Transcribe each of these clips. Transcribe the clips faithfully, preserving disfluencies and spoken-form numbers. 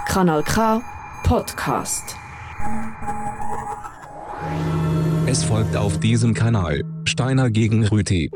Kanal K Podcast. Es folgt auf diesem Kanal Steiner gegen Rüti.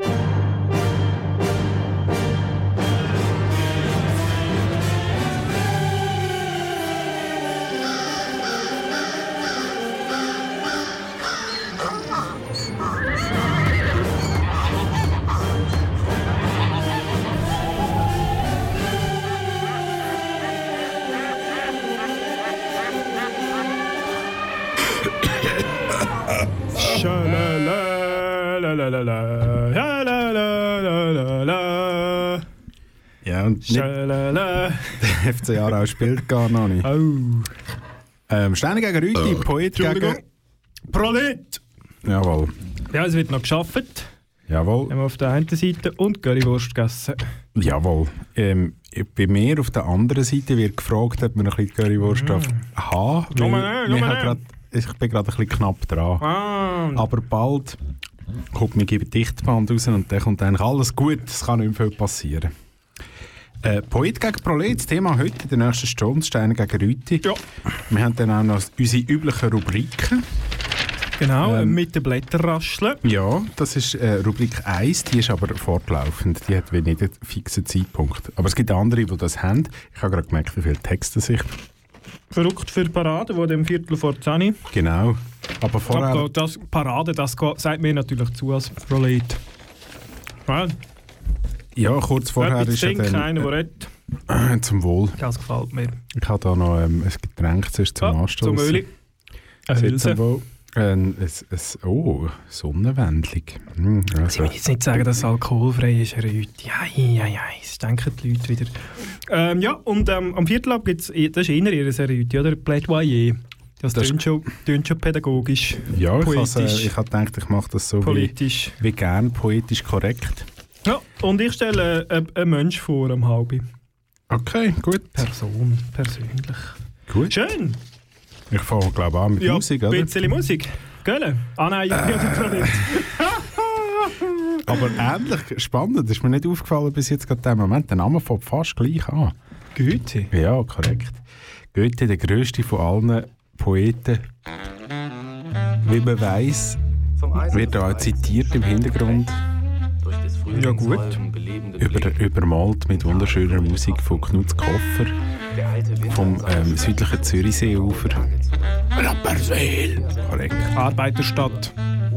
Ja, und nicht, der F C Aarau spielt gar noch nicht. Oh. Ähm, Steiner gegen Rüti, oh. Poet gegen... Prolet! Jawohl. Ja, es wird noch geschafft. Jawohl. Haben wir auf der einen Seite und Currywurst gegessen. Jawohl. Ähm, bei mir auf der anderen Seite wird gefragt, ob man ein bisschen Currywurst mm. haben darf. Weil ich bin gerade ein bisschen knapp dran. Ah. Aber bald kommt mir die Dichtband raus und dann kommt eigentlich alles gut. Es kann nicht mehr viel passieren. Äh, Poet gegen Prolet, das Thema heute in der nächsten Stunde, Steiner gegen Rüti. Ja. Wir haben dann auch noch unsere üblichen Rubriken. Genau, ähm, mit den Blätterrascheln. Ja, das ist äh, Rubrik eins, die ist aber fortlaufend. Die hat nicht einen fixen Zeitpunkt. Aber es gibt andere, die das haben. Ich habe gerade gemerkt, wie viele Texte sich... Verrückt für Parade, die dem Viertel vor zehn. Genau. Aber vorher... Aber das Parade, das sagt mir natürlich zu als Prolet. Ja, ja kurz vorher ist ja dann... Einer, der redet. Äh, zum Wohl. Das gefällt mir. Ich habe da noch ähm, ein Getränk zuerst zum ah, Anstoßen. Zum Öli. Eine Hülse. Ein, ein, ein, oh, Sonnenwendling. Hm, also. Ich will jetzt nicht sagen, dass es alkoholfrei ist, Herr Rüti. Ei, ei, ei, das denken die Leute wieder. Ähm, ja, und ähm, am Viertel ab gibt es, das ist eher Ihr Herr Rüti, oder? Plädoyer. Das, das tönt schon, schon pädagogisch, ja, poetisch. Ja, ich, äh, ich habe gedacht, ich mache das so politisch. Wie, wie gern, poetisch korrekt. Ja, und ich stelle äh, einen Mensch vor am halben. Okay, gut. Person, persönlich. Gut. Schön. Ich fange, glaube ich, an mit ja, Musik, oder? Ja, ein bisschen Musik. Gell? Ah nein, ich äh. nicht. Aber ähnlich spannend, ist mir nicht aufgefallen bis jetzt gerade der Moment. Der Name fängt fast gleich an. Goethe? Ja, korrekt. Goethe, der grösste von allen Poeten. Wie man weiss, wird er auch zitiert im Hintergrund. Ja gut. Über, übermalt mit wunderschöner Musik von Knut Koffer vom ähm, südlichen Zürichseeufer. Rapperswil! Korrekt. Arbeiterstadt.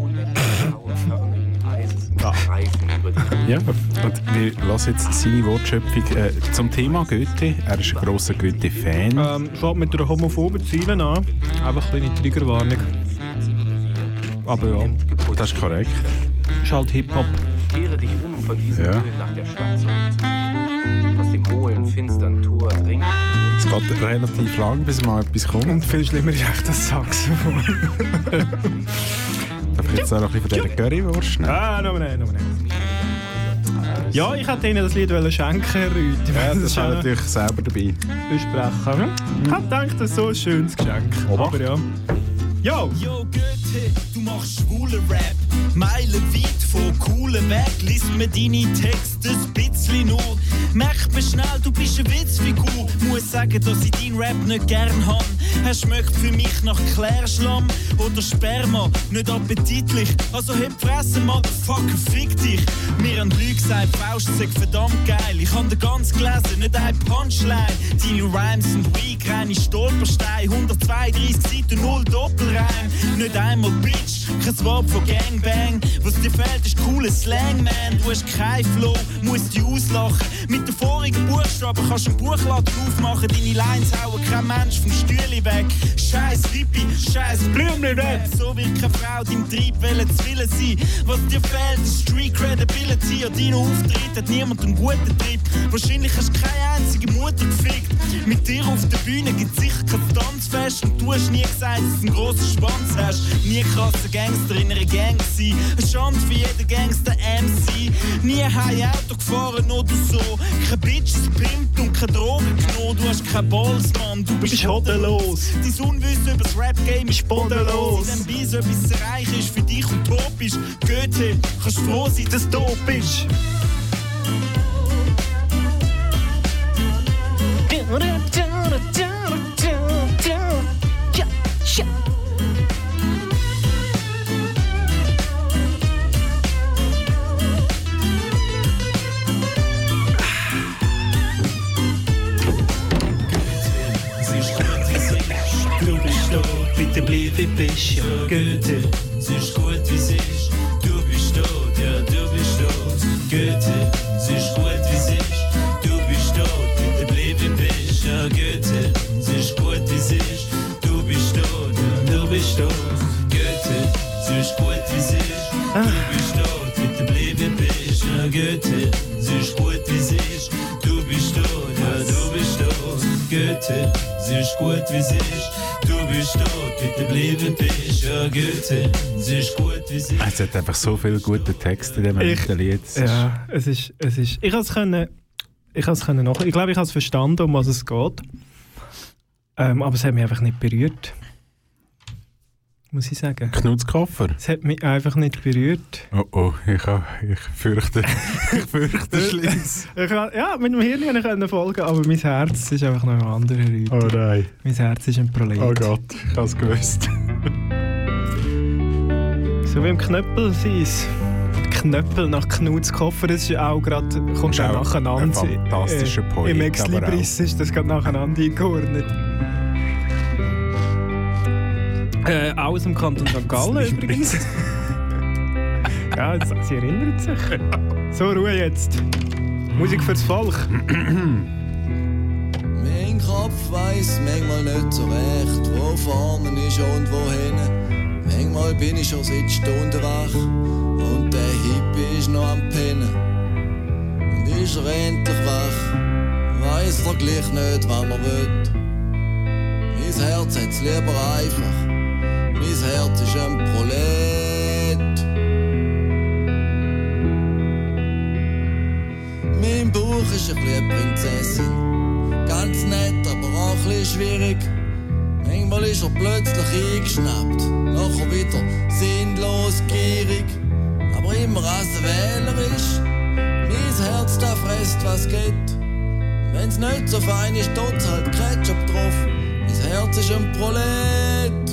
Ja. Ja, und wir lassen jetzt seine Wortschöpfung äh, zum Thema Goethe. Er ist ein grosser Goethe-Fan. Ähm, schaut mit einer homophoben Ziele an. Einfach eine kleine Triggerwarnung. Aber ja. Das ist korrekt. Ist halt Hip-Hop. Kehre dich um von diesem ja. Höhen nach der Stadt zurück. Aus dem hohlen, finstern Tor dringt. Es geht relativ lang, bis mal etwas kommt. Und viel schlimmer ist echt das Saxophon. Darf ich jetzt auch noch ein bisschen von dieser Currywurst nehmen? Ah, noch nicht, noch nicht. Ja, ich hätte Ihnen das Lied schenken, Herr Rüti. Ja, das ist natürlich selber dabei. Besprechen. Ich habe gedacht, das ist so ein schönes Geschenk. Oba. Aber ja. Yo! Yo Goethe, du machst schwulen Rap. Meilenweit von coolen Weg. Lies mir deine Texte ein bisschen nur. Merk mir schnell, du bist eine Witzfigur. Muss sagen, dass ich deinen Rap nicht gern hab. Er schmeckt für mich nach Klärschlamm oder Sperma. Nicht appetitlich, also heb Fresse, Motherfucker, fick dich. Mir haben Leute gesagt, Faust sei verdammt geil. Ich hab den ganz gelesen, nicht ein Punchline. Deine Rhymes sind weak, reine Stolpersteine. hundertzweiunddreißig Seiten, null Doppelreim. Nicht einmal Bitch, kein Wort von Gangbang. Was dir fehlt, ist cooler Slang, man. Du hast kein Flow, musst dich auslachen. Mit den vorigen Buchstaben kannst du einen Buchladen aufmachen. Deine Lines hauen kein Mensch vom Stühle weg. Scheiß Hippie, scheiß Blümli-Rap. So wird keine Frau deinem Trieb wollen zu willen sein. Was dir fehlt, ist Street Credibility. An deinen Auftritt hat niemand einen guten Trip. Wahrscheinlich hast du keine einzige Mutter gefickt. Mit dir auf der Bühne gibt's sicher kein Tanzfest. Und du hast nie gesagt, dass du einen grossen Schwanz hast. Nie krasser Gangster in einer Gang sein. Eine Chance für jeden Gangster M C. Nie heim Auto gefahren oder so. Kein Bitches pimpt und keine Drogen genommen. Du hast kein Balls, Mann, du bist hodenlos. Dein Unwissen über das Rap-Game ist bodenlos. In dem Beis etwas zu erreichen ist für dich utopisch. Goethe, kannst froh sein, dass du tot bist. bist ja Goethe. Es ist gut, wie es ist. Du bist tot, ja, du bist tot. Goethe, es ist gut, wie es ist. Du bist tot, bitte bleib wie bist. Ja, Goethe, es ist gut, wie es ist. Du bist tot, ja, du bist tot. Goethe, es ist gut, wie es ist. Du bist tot, bitte bleib wie bist. Ja, Goethe, es ist gut, wie es ist. Du bist tot, ja, du bist tot. Goethe, es ist gut, wie es ist. Du bist tot, bitte bleib wie bist. Ja, Goethe, es ist gut, wie es ist. Es hat einfach so viele gute Texte in diesem Lied. Ja, es ist, es ist... Ich konnte es ich können noch... Ich glaube, ich habe es verstanden, um was es geht. Ähm, aber es hat mich einfach nicht berührt. Muss ich sagen. Knutzkoffer? Es hat mich einfach nicht berührt. Oh oh, ich, ha, ich fürchte... ich fürchte Schlimm. Ja, mit dem Hirn konnte ich folgen, aber mein Herz ist einfach noch ein anderer Leute. Oh nein. Mein Herz ist ein Prolet. Oh Gott, ich habe es gewusst. So wie im Knöppel sein. Knöppel nach Knutzkoffer, das ist auch gerade, kommt auch nacheinander. Ein fantastischer äh, Poet. Im Ex-Libris ist das gerade nacheinander eingeordnet. Äh, aus dem Kanton Sankt Gallen übrigens. Ja, das, sie erinnert sich. So, Ruhe jetzt. Musik fürs Volk. Mein Kopf weiss manchmal nicht so recht, wo vorne ist und wohin. Manchmal bin ich schon seit Stunden wach und der Hippie ist noch am Pennen. Und ist er endlich wach, weiss er gleich nicht, was er will. Mein Herz hat's lieber einfach, mein Herz ist ein Prolet. Mein Bauch ist ein bisschen Prinzessin, ganz nett, aber auch ein bisschen schwierig. Manchmal ist er plötzlich eingeschnappt, nachher wieder sinnlos gierig. Aber immer als er Wähler ist, mein Herz da fresst, was geht. Wenn's nicht so fein ist, tut's halt Ketchup drauf. Mein Herz ist ein Prolet.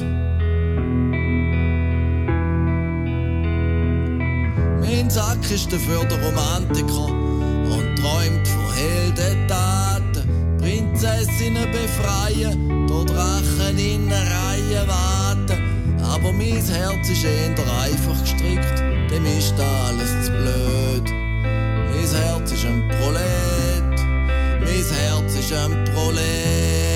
Mein Sack ist dafür der Romantiker und träumt von Heldentaten. Prinzessinnen befreien, durch Drachen in eine Reihe warten. Aber mein Herz ist eher einfach gestrickt, dem ist alles zu blöd. Mein Herz ist ein Prolet, mein Herz ist ein Prolet.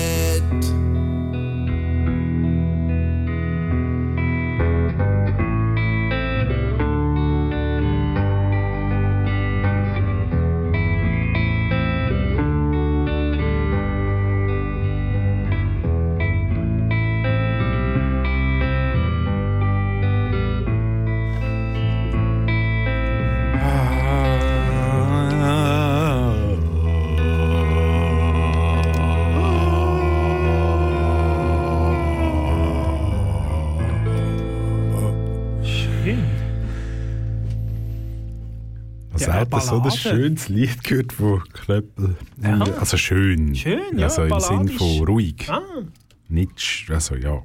Das so ein schönes Lied gehört von Knöppel. Ja. Also schön. Schön, ja, also im Sinn von ruhig. Ah. Nicht, also ja.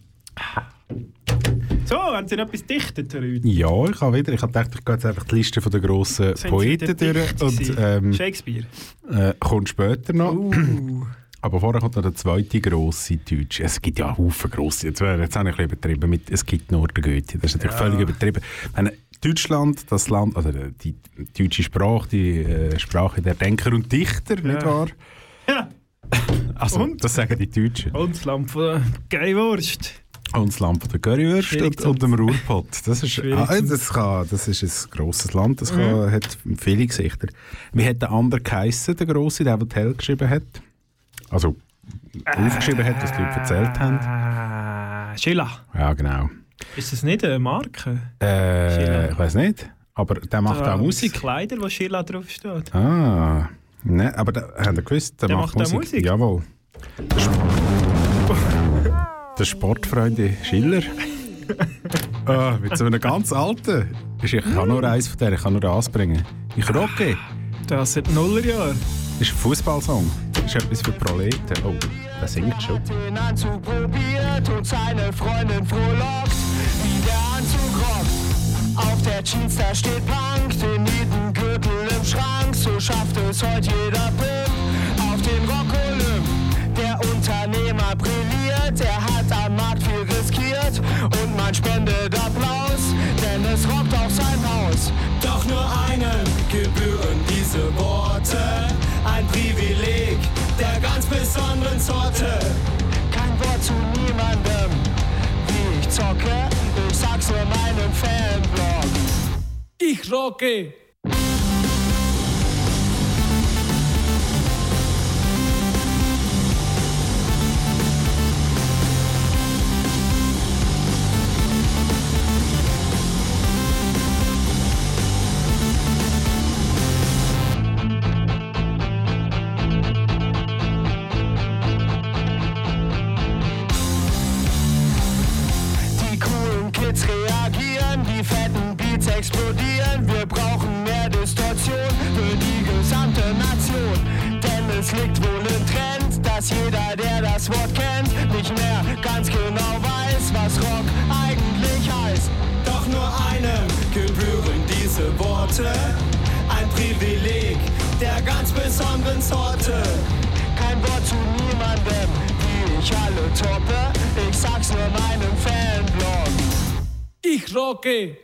So, haben Sie noch etwas dichtet heute? Ja, ich habe wieder. Ich habe gedacht, ich gehe jetzt einfach die Liste der grossen Poeten durch. Und, ähm, Shakespeare. Äh, kommt später noch. Uh. Aber vorher kommt noch der zweite grosse Deutsche. Es gibt ja Haufen grosse. Jetzt, jetzt habe ich ein bisschen übertrieben. Mit, es gibt nur den Goethe. Das ist natürlich ja. völlig übertrieben. Meine, Deutschland, das Land, also die deutsche Sprache, die äh, Sprache der Denker und Dichter, ja. nicht wahr? Ja. Also, und? Das sagen die Deutschen. Und das Land von der Geilwurst. Und das Land von der Currywurst und, und dem Ruhrpott. Das ist, ah, das, kann, das ist ein grosses Land, das kann, mhm. hat viele Gesichter. Wie hat der andere geheissen, der Grosse, der, der Tell geschrieben hat? Also, äh, aufgeschrieben hat, was die Leute erzählt haben. Schiller. Ja, genau. Ist das nicht eine Marke? Äh, ich weiß nicht. Aber der macht da auch Musik. Kleider, wo Schiller draufsteht. Ah, ne, aber da, habt ihr gewusst, der, der macht, macht Musik. Musik. Jawohl. Der, Sp der Sportfreunde Schiller. Ah, mit so einem ganz alten. Ich kann nur eins von denen, ich kann nur das bringen. Ich rocke. Das sind Nullerjahre. Das ist ein Fußballsong. Das ist etwas für Proleten. Oh, der singt schon. Den Anzug probiert und seine Freundin frohlockt, wie der Anzug rockt. Auf der Jeans da steht Punk, den Nietengürtel im Schrank. So schafft es heute jeder Pimp auf den Rock Olymp. Der Unternehmer brilliert, er hat am Markt viel riskiert. nur einem gebühren diese Worte. Ein Privileg der ganz besonderen Sorte. Kein Wort zu niemandem, wie ich zocke. Ich sag's nur meinem Fanblog. Ich rocke. Explodieren, wir brauchen mehr Distortion für die gesamte Nation. Denn es liegt wohl im Trend, dass jeder, der das Wort kennt, nicht mehr ganz genau weiß, was Rock eigentlich heißt. Doch nur einem gebühren diese Worte, ein Privileg der ganz besonderen Sorte. Kein Wort zu niemandem, wie ich alle toppe, ich sag's nur meinem Fanblog. Ich rocke!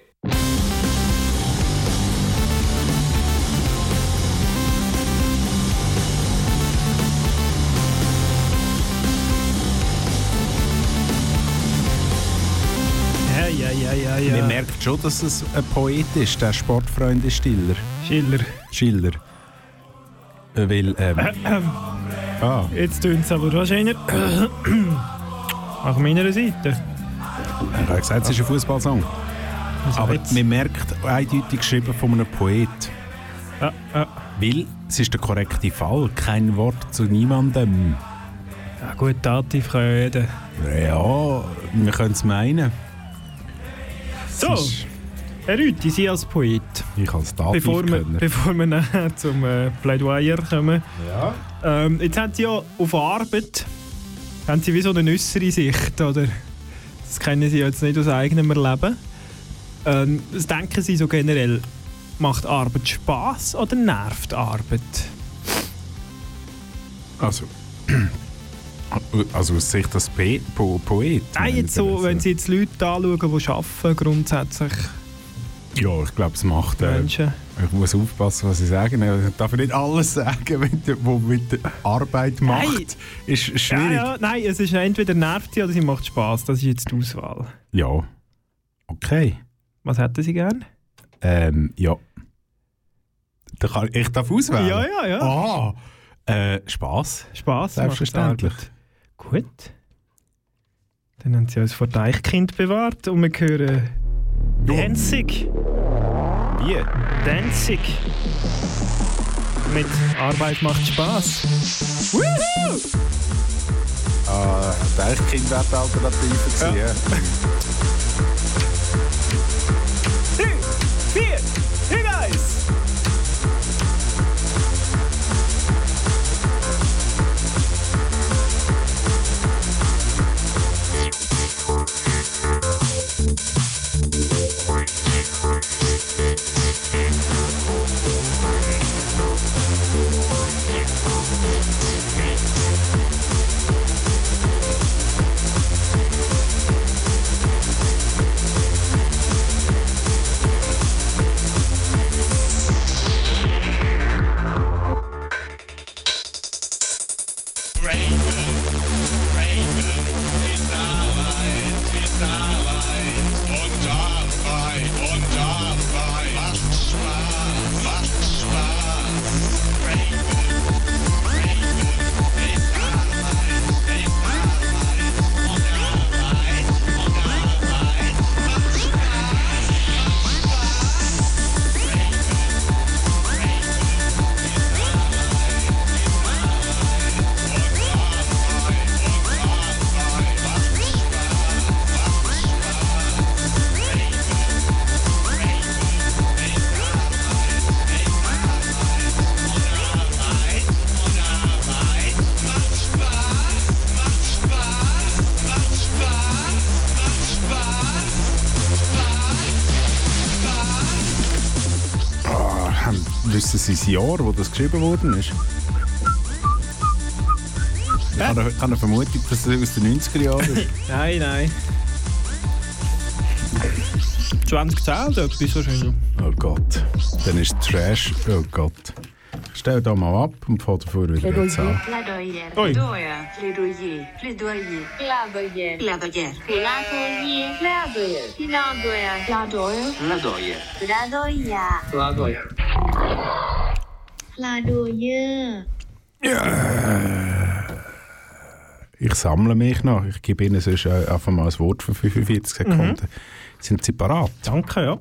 Ja, ja, ja, ja. Man merkt schon, dass es ein Poet ist, der Sportfreund ist Stiller. Schiller. Schiller. Äh, Weil, ähm... ah. Jetzt tun es aber wahrscheinlich nach meiner Seite. Ich habe gesagt, es ist ein Fußballsong. Also aber jetzt. man merkt eindeutig geschrieben von einem Poet. Ja, ja. Weil es ist der korrekte Fall. Kein Wort zu niemandem. Ja gut, Dativ kann ja jeder. Ja, wir können es meinen. So, Herr Rüthi, Sie als Poet. Ich als Dativ Bevor wir, können. bevor wir nachher zum äh, Plädoyer kommen. Ja. Ähm, jetzt haben Sie ja auf Arbeit haben Sie wie so eine äußere Sicht, oder? Das kennen Sie jetzt nicht aus eigenem Erleben. Ähm, was denken Sie so generell? Macht Arbeit Spass oder nervt Arbeit? Also, also aus Sicht des Pe- po- Poet? Nein, jetzt so, wenn Sie jetzt Leute anschauen, die arbeiten, grundsätzlich Ja, ich glaube, es macht... Äh, Menschen. ich muss aufpassen, was ich sage. Ich darf nicht alles sagen, was mit der Arbeit macht. Nein. Ist schwierig. Ja, ja, nein, es ist entweder nervt sie oder sie macht Spass. Das ist jetzt die Auswahl. Ja. Okay. Was hätten Sie gern? Ähm, ja. Da kann, ich darf auswählen? Ja, ja, ja. Ah, äh, Spass. Spass. Selbstverständlich. macht Arbeit. Gut. Dann haben Sie uns vor Deichkind bewahrt und wir hören Danzig. Wie? Danzig. Mit Arbeit macht Spass. Woohoo! Ah, Deichkind wäre die Alternative gewesen. Ja. Ja. Drei, vier, you guys! Wissen Sie das Jahr, wo das geschrieben worden ist? Ich habe eine, eine Vermutung, dass es aus den neunziger Jahren ist. Nein, nein. zwanzig zählt etwas wahrscheinlich. Oh Gott. Dann ist Trash. Oh Gott. Stell da mal ab und fahr davor wieder an. Plädoyer. Oi. Plädoyer. Plädoyer. Plädoyer. Plädoyer. Plädoyer. Plädoyer. Plädoyer. Plädoyer. Plädoyer. Plädoyer. Plädoyer. Ja. Ich sammle mich noch. Ich gebe Ihnen sonst einfach mal ein Wort für fünfundvierzig Sekunden. Mhm. Sind Sie parat? Danke, ja.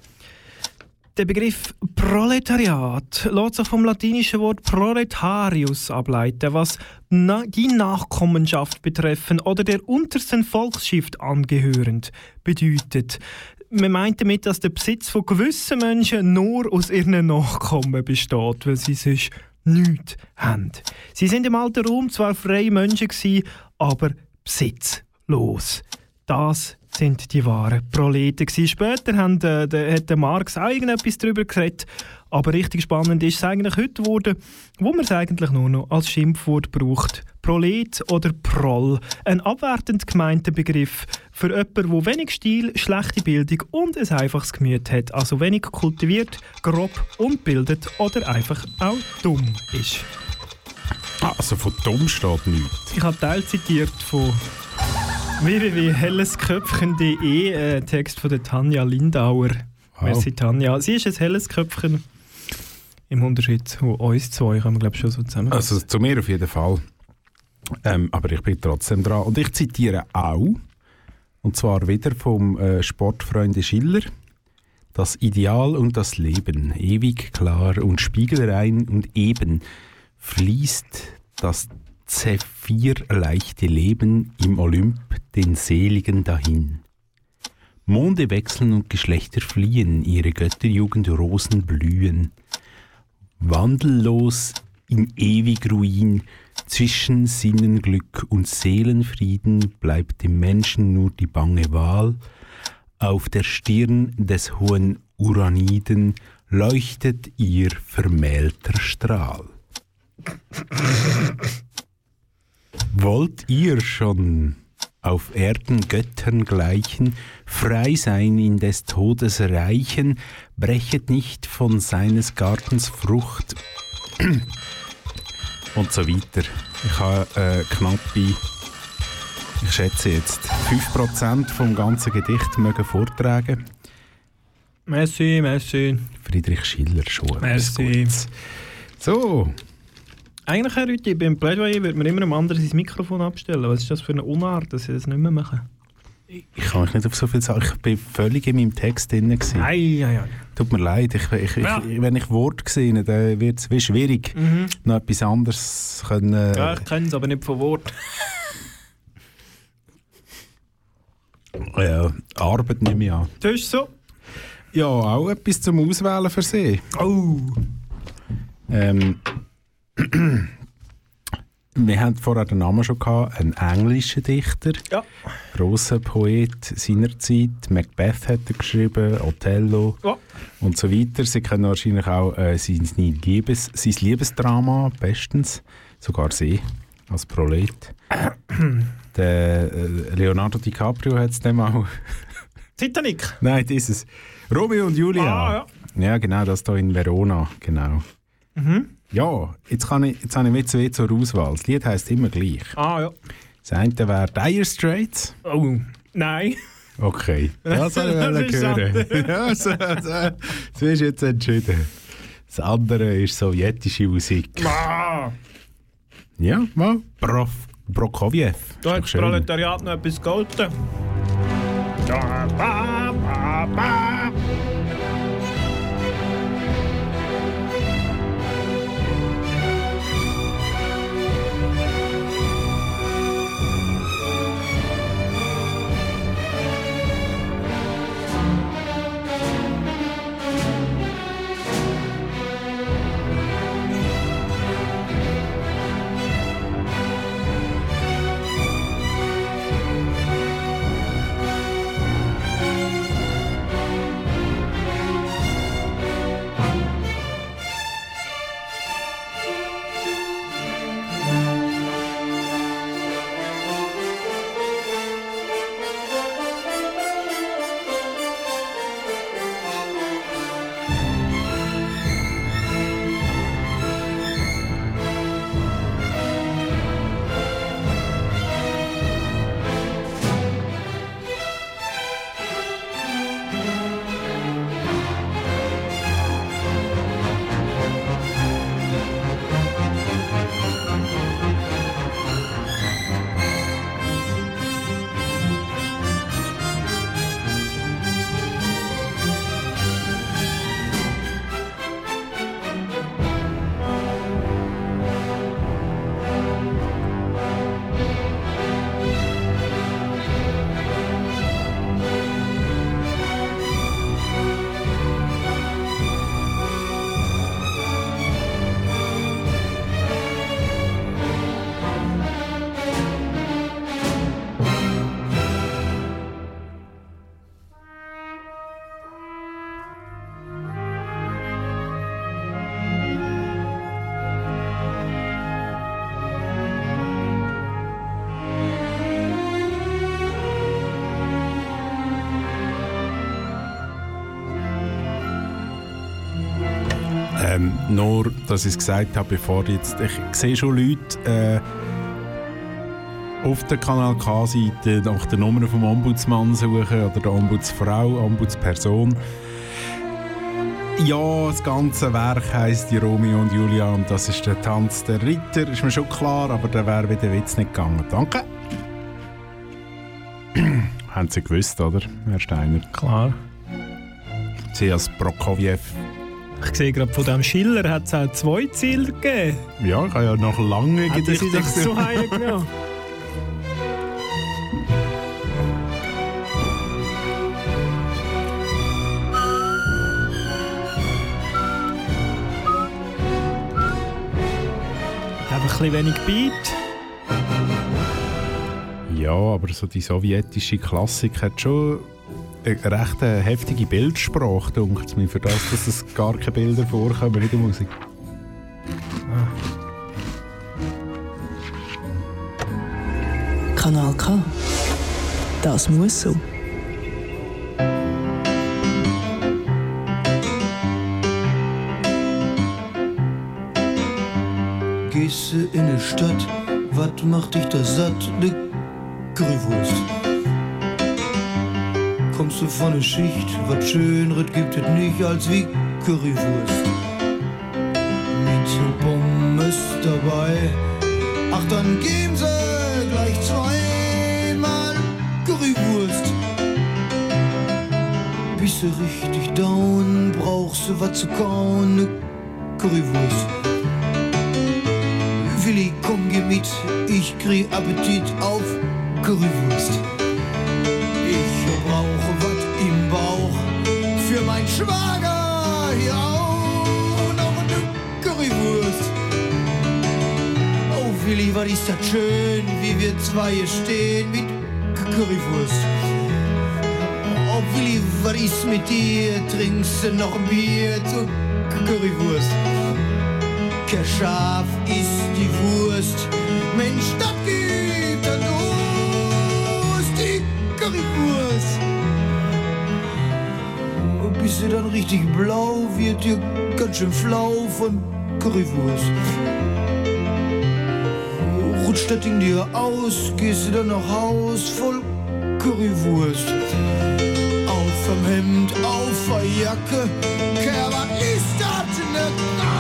Der Begriff Proletariat lässt sich vom latinischen Wort proletarius ableiten, was na- die Nachkommenschaft betreffen oder der untersten Volksschicht angehörend bedeutet. Man meint damit, dass der Besitz von gewissen Menschen nur aus ihren Nachkommen besteht, weil sie sonst nichts haben. Sie sind im alten Rom zwar freie Menschen gewesen, aber besitzlos. Das sind die wahren Proleten gewesen. Später haben, äh, der, hat der Marx auch irgendetwas darüber geredet. Aber richtig spannend ist es eigentlich heute geworden, wo man es eigentlich nur noch als Schimpfwort braucht. Prolet oder Proll. Ein abwertend gemeinter Begriff für jemanden, der wenig Stil, schlechte Bildung und ein einfaches Gemüt hat. Also wenig kultiviert, grob, ungebildet oder einfach auch dumm ist. Ah, also von dumm steht nichts. Ich habe Teil zitiert von w w w punkt hellesköpfchen punkt d e, äh, Text von der Tanja Lindauer. Wow. Merci Tanja. Sie ist ein helles Köpfchen. Im Unterschied zu uns zwei können wir glaube ich schon so zusammen. Also zu mir auf jeden Fall. Ähm, aber ich bin trotzdem dran. Und ich zitiere auch, und zwar wieder vom äh, Sportfreunde Schiller, das Ideal und das Leben, ewig klar und spiegelrein und eben, fließt das zephyrleichte Leben im Olymp den Seligen dahin. Monde wechseln und Geschlechter fliehen, ihre Götterjugend Rosen blühen. Wandellos in ewig Ruin, zwischen Sinnenglück und Seelenfrieden bleibt dem Menschen nur die bange Wahl. Auf der Stirn des hohen Uraniden leuchtet ihr vermählter Strahl. Wollt ihr schon auf Erden Göttern gleichen, frei sein in des Todes Reichen, brechet nicht von seines Gartens Frucht und so weiter. Ich habe äh, knappe, ich schätze jetzt, fünf Prozent vom ganzen Gedicht mögen vortragen. Merci, merci. Friedrich Schiller schon. Merci. So. Eigentlich, Herr Rüthi, beim Plädoyer würde man immer einem anderen sein Mikrofon abstellen. Was ist das für eine Unart, dass sie das nicht mehr machen? Ich kann mich nicht auf so viel sagen. Ich war völlig in meinem Text drin. Nein, nein, nein. Tut mir leid. Ich, ich, Ja. ich, wenn ich Wort sehe, dann wird es wie schwierig, Mhm. noch etwas anderes können. Äh, Ja, ich kenne es, aber nicht von Wort. ja, Arbeit nehme ich an. Das ist so. Ja, auch etwas zum Auswählen für Sie. Oh. Ähm, wir hatten vorher den Namen schon gehabt, ein englischer Dichter, Ja. grosser Poet seiner Zeit. Macbeth hat er geschrieben, Othello Ja. und so weiter. Sie kennen wahrscheinlich auch äh, sein, Liebes, sein Liebesdrama bestens, sogar sie als Prolet. Der äh, Leonardo DiCaprio hat es dem auch. Titanic. Nein, dieses Romeo und Julia. Ah, ja. ja, genau, das hier in Verona, genau. Mhm. Ja, jetzt, kann ich, jetzt habe ich zwei zur Auswahl. Das Lied heisst immer gleich. Ah, ja. Das eine wäre Dire Straits. Oh, nein. Okay, das soll ich Das wollen ist hören. Ja, so, so, so ist jetzt entschieden. Das andere ist sowjetische Musik. Ah. Ja, mal. Prof, Prokofjew. Da hat Ist das doch schön. Proletariat noch etwas gehalten. Da, ba, ba, ba. Ähm, nur, dass ich es gesagt habe, bevor jetzt... Ich sehe schon Leute äh, auf der Kanal K-Seite nach der Nummer vom Ombudsmann suchen oder der Ombudsfrau, Ombudsperson. Ja, das ganze Werk heisst die Romeo und Julia und das ist der Tanz der Ritter, ist mir schon klar, aber der wäre wie der Witz nicht gegangen. Danke. Haben Sie gewusst, oder, Herr Steiner? Klar. Sie als Prokofjew. Ich sehe gerade, von diesem Schiller hat es auch zwei Ziele gegeben. Ja, ich habe ja noch lange Hätten Gedichte Sie das so heimgenommen? Einfach ein bisschen wenig Beat. Ja, aber so die sowjetische Klassik hat schon eine recht heftige Bildsprache, denkt mir, für das, dass es gar keine Bilder vorkommen in der Musik. Ah. Kanal K. Das muss so. Gehst du in die Stadt, wat macht dich da satt? Ne Currywurst. Kommst du von der Schicht, wat Schönres gibt es nicht als wie Currywurst. Mit Pommes dabei, ach dann geben sie gleich zweimal Currywurst. Bist du richtig down, brauchst du wat zu kauen, ne Currywurst. Willi, komm, geh mit, ich krieg Appetit auf Currywurst. Ich brauche was im Bauch für mein Schwager, ja, noch eine Currywurst. Oh Willi, was ist das schön, wie wir zwei hier stehen mit Currywurst. Oh Willi, was ist mit dir, trinkst du noch ein Bier zur Currywurst. Kein Schaf ist die Wurst, Mensch, das gibt er los, die Currywurst. Und bist du dann richtig blau, wird dir ganz schön flau von Currywurst. Rutscht das Ding dir aus, gehst du dann nach Haus voll Currywurst. Auf am Hemd, auf der Jacke, Kerl, was ist das denn?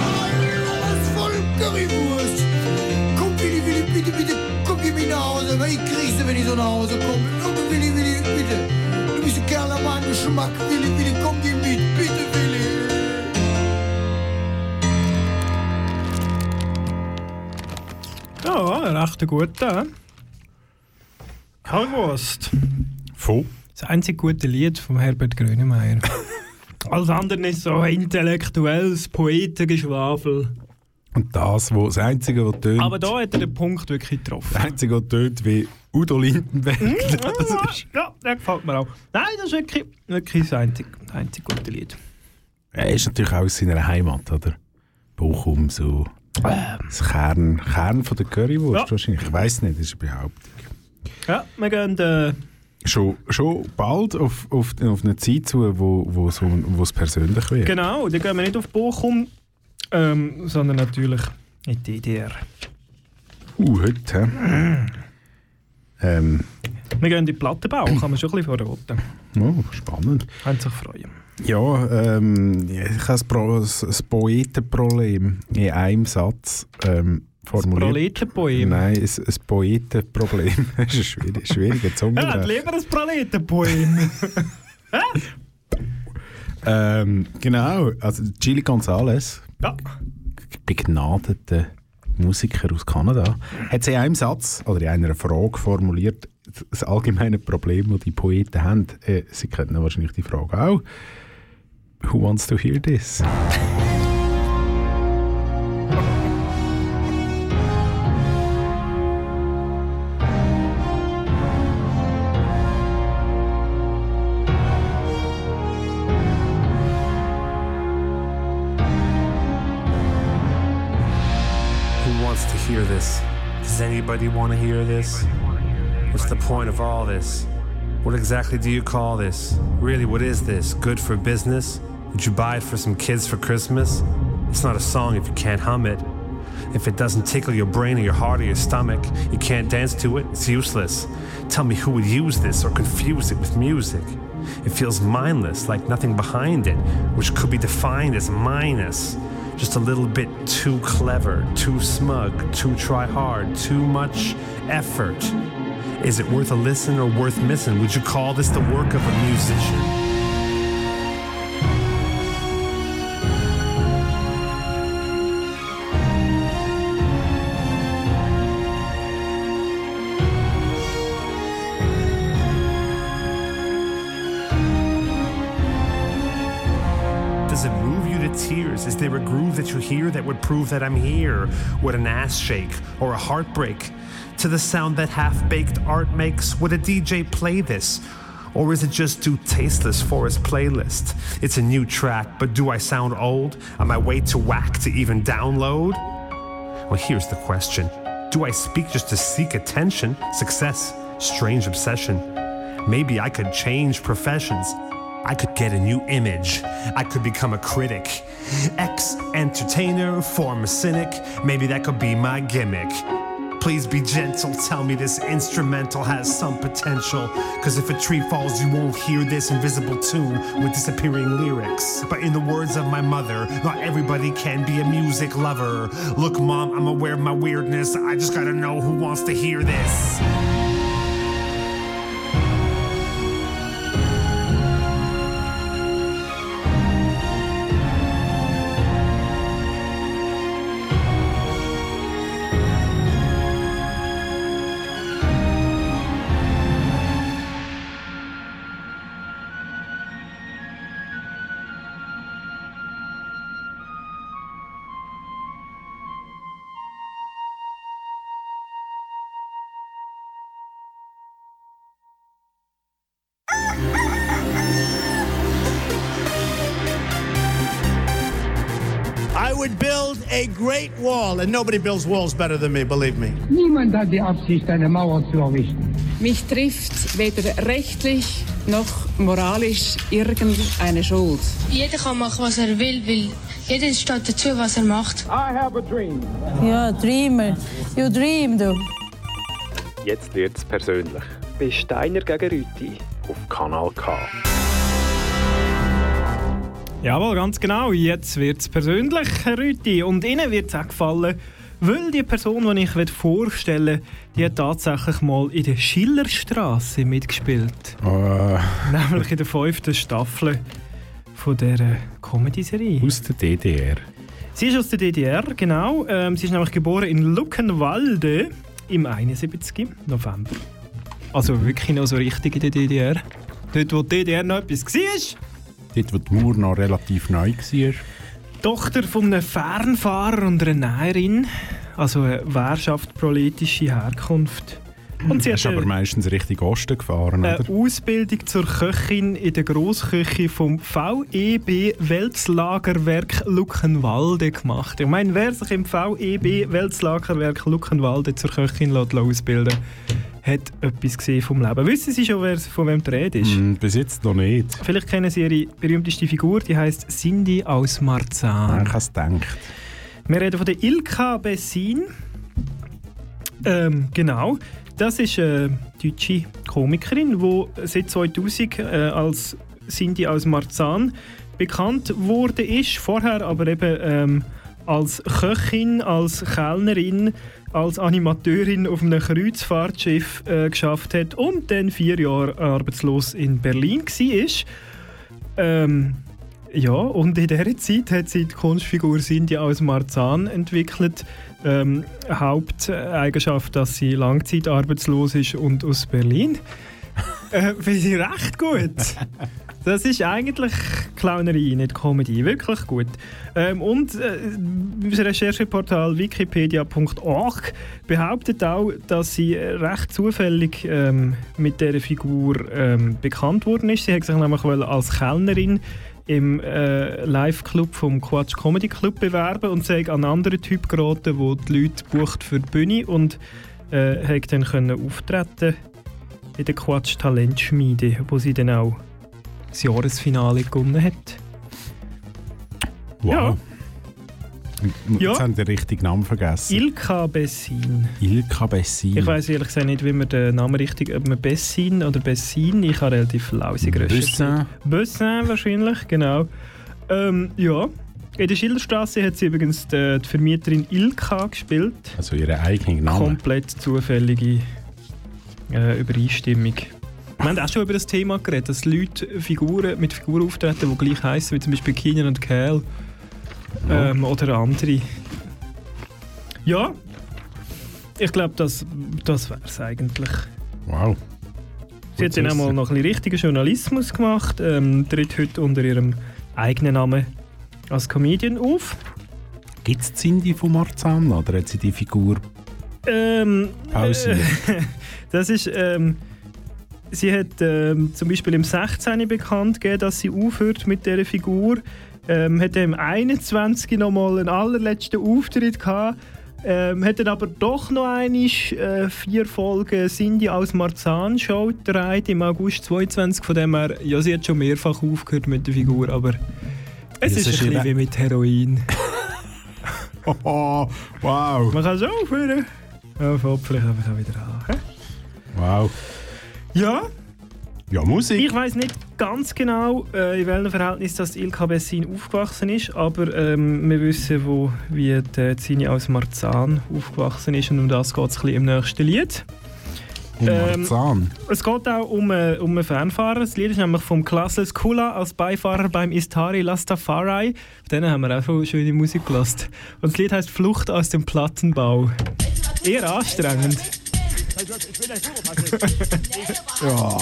Currywurst. Komm, Willi, Willi, bitte, bitte, komm, geh mich nach Hause, weil ich krieg's, wenn ich so nach Hause komme. Oh, Willi, Willi, bitte. Du bist ein Kerl nach meinem Geschmack. Willi, Willi, komm, geh mit, bitte, Willi. Ja, recht guter. Currywurst. Von? Das einzige gute Lied von Herbert Grönemeyer. Alles andere ist so intellektuelles Poetengeschwafel. Und das, wo, das Einzige, was tönt... Aber da hat er den Punkt wirklich getroffen. Das Einzige, was tönt wie Udo Lindenberg. Mm, ja, der gefällt mir auch. Nein, das ist wirklich, wirklich das einzige, das einzige gute Lied. Er ist natürlich auch aus seiner Heimat, oder? Bochum, so... Ähm. Das Kern, Kern von der Currywurst, ja. Wahrscheinlich. Ich weiss nicht, das ist eine Behauptung. Ja, wir gehen... Äh, Schon, schon bald auf, auf, auf eine Zeit zu, wo, wo, so, wo es persönlich wird. Genau, da gehen wir nicht auf Bochum, ähm, sondern natürlich in die D D R. Uh, heute, hä? ähm. Wir gehen in den Plattenbau, kann man schon ein bisschen verraten. Oh, spannend. Können sich freuen. Ja, ähm, ich habe das, Pro, das Poetenproblem in einem Satz ähm, formuliert. Das Proletenpoem? Nein, ein, ein Poetenproblem. Das ist ein schwierig, schwieriger Zunge. Ja, lieber ein Proletenpoem. ähm, genau, also Chili González, ja. begnadeter Musiker aus Kanada, hat sie in einem Satz oder in einer Frage formuliert, das allgemeine Problem, das die Poeten haben. Äh, sie kennen wahrscheinlich die Frage auch. Who wants to hear this? Hear this? Does anybody want to hear this? What's the point of all this? What exactly do you call this? Really, what is this? Good for business? Did you buy it for some kids for Christmas? It's not a song if you can't hum it. If it doesn't tickle your brain or your heart or your stomach, you can't dance to it, it's useless. Tell me who would use this or confuse it with music. It feels mindless, like nothing behind it, which could be defined as minus. Just a little bit too clever, too smug, too try hard, too much effort. Is it worth a listen or worth missing? Would you call this the work of a musician? Does it move you to tears? Is there a groove that you hear that would prove that I'm here? Would an ass shake or a heartbreak? To the sound that half-baked art makes, would a D J play this? Or is it just too tasteless for his playlist? It's a new track, but do I sound old? Am I way too whack to even download? Well, here's the question. Do I speak just to seek attention? Success? Strange obsession. Maybe I could change professions. I could get a new image. I could become a critic. Ex-entertainer, former cynic. Maybe that could be my gimmick. Please be gentle, tell me this instrumental has some potential. Cause if a tree falls, you won't hear this invisible tune with disappearing lyrics. But in the words of my mother, not everybody can be a music lover. Look, Mom, I'm aware of my weirdness. I just gotta know who wants to hear this. I would build a great wall, and nobody builds walls better than me, believe me. Niemand hat die Absicht, eine Mauer zu errichten. Mich trifft weder rechtlich noch moralisch irgendeine Schuld. Jeder kann machen, was er will, weil jeder steht dazu, was er macht. I have a dream. Ja, Dreamer. You dream, du. Jetzt wird's persönlich. Bei Steiner gegen Rüti auf Kanal K. Jawohl, ganz genau. Jetzt wird es persönlich, Herr Rüti. Und Ihnen wird es auch gefallen, weil die Person, die ich vorstellen will, die hat tatsächlich mal in der Schillerstraße mitgespielt. Oh. Nämlich in der fünften Staffel von dieser Comedy-Serie. Aus der D D R. Sie ist aus der D D R, genau. Ähm, sie ist nämlich geboren in Luckenwalde im einundsiebzig November. Also wirklich noch so richtig in der D D R. Dort, wo die D D R noch etwas war. Dort, wo die Mauer noch relativ neu war. Tochter von einem Fernfahrer und einer Näherin, also eine Währschaft-proletische Herkunft. Und sie ist aber meistens Richtung Osten gefahren, eine oder? Ausbildung zur Köchin in der Grossküche vom V E B Weltlagerwerk Luckenwalde gemacht. Ich meine, wer sich im V E B Weltlagerwerk Luckenwalde zur Köchin ausbilden lässt, hat etwas gesehen vom Leben. Wissen Sie schon, wer von wem die Rede ist? Mm, bis jetzt noch nicht. Vielleicht kennen Sie ihre berühmteste Figur, die heisst Cindy aus Marzahn. Ich habe es gedacht. Wir reden von der Ilka Bessin. Ähm, genau. Das ist eine deutsche Komikerin, die seit zweitausend äh, als Cindy aus Marzahn bekannt wurde. Ist. Vorher aber eben ähm, als Köchin, als Kellnerin, als Animateurin auf einem Kreuzfahrtschiff äh, geschafft hat und dann vier Jahre arbeitslos in Berlin war. Ähm, ja, und in dieser Zeit hat sie die Kunstfigur Cindy aus Marzahn entwickelt. Ähm, Haupteigenschaft, dass sie langzeitarbeitslos ist und aus Berlin. äh, Finde ich recht gut. Das ist eigentlich Clownerie, nicht Comedy. Wirklich gut. Ähm, und äh, das Rechercheportal wikipedia punkt org behauptet auch, dass sie recht zufällig ähm, mit dieser Figur ähm, bekannt worden ist. Sie hat sich nämlich als Kellnerin im äh, Live-Club vom Quatsch Comedy Club bewerben und sie hat an einen anderen Typ geraten, der die Leute bucht für die Bühne und äh, hat dann können auftreten in der Quatsch Talentschmiede, wo sie dann auch das Jahresfinale gewonnen hat. Wow. Ja. Ja. Jetzt haben wir den richtigen Namen vergessen. Ilka Bessin. Ilka Bessin. Ich weiss ehrlich gesagt nicht, wie man den Namen richtig, ob man Bessin oder Bessin, ich habe relativ lausig recherchiert. Bessin wahrscheinlich, genau. Ähm, ja, in der Schilderstraße hat sie übrigens die, die Vermieterin Ilka gespielt. Also ihre eigene Name. Komplett zufällige äh, Übereinstimmung. Wir haben auch schon über das Thema geredet, dass Leute Figuren, mit Figuren auftreten, die gleich heissen, wie zum Beispiel Keenan und Kel. Ja. Ähm, oder andere. Ja, ich glaube, das, das wäre es eigentlich. Wow. Sie hat dann auch mal noch ein bisschen richtigen Journalismus gemacht, ähm, tritt heute unter ihrem eigenen Namen als Comedian auf. Gibt es Cindy von Marzahn oder hat sie die Figur ähm, pausiert? Äh, das ist... Ähm, sie hat ähm, zum Beispiel im sechzehn bekannt gegeben, dass sie aufhört mit dieser Figur. Ähm, hat im einundzwanzig noch mal einen allerletzten Auftritt gehabt. Ähm, hat dann aber doch noch einmal äh, vier Folgen Cindy als Marzahn-Show gedreht im August zweiundzwanzig. Von dem her, ja, sie hat schon mehrfach aufgehört mit der Figur, aber es ist, ist ein bisschen wie mit Heroin. Oh, wow. Man kann es aufhören. Ja, fängt vielleicht einfach wieder an. He? Wow. Ja. Ja, Musik. Ich weiss nicht ganz genau, äh, in welchem Verhältnis das Ilka Bessin aufgewachsen ist, aber ähm, wir wissen, wo, wie die Zini aus Marzahn aufgewachsen ist und um das geht es ein bisschen im nächsten Lied. Um Marzahn? Ähm, es geht auch um, äh, um einen Fernfahrer. Das Lied ist nämlich vom Classless Kula als Beifahrer beim Istari Lastafari. Von denen haben wir auch schon schöne Musik gelassen. Und das Lied heisst Flucht aus dem Plattenbau. Eher anstrengend. Ich bin der Superfaschist. Ja.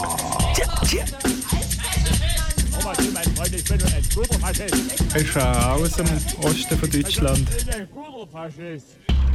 Ich bin ein Superfaschist. Ist auch aus dem Osten von Deutschland. Ich bin ein Superfaschist.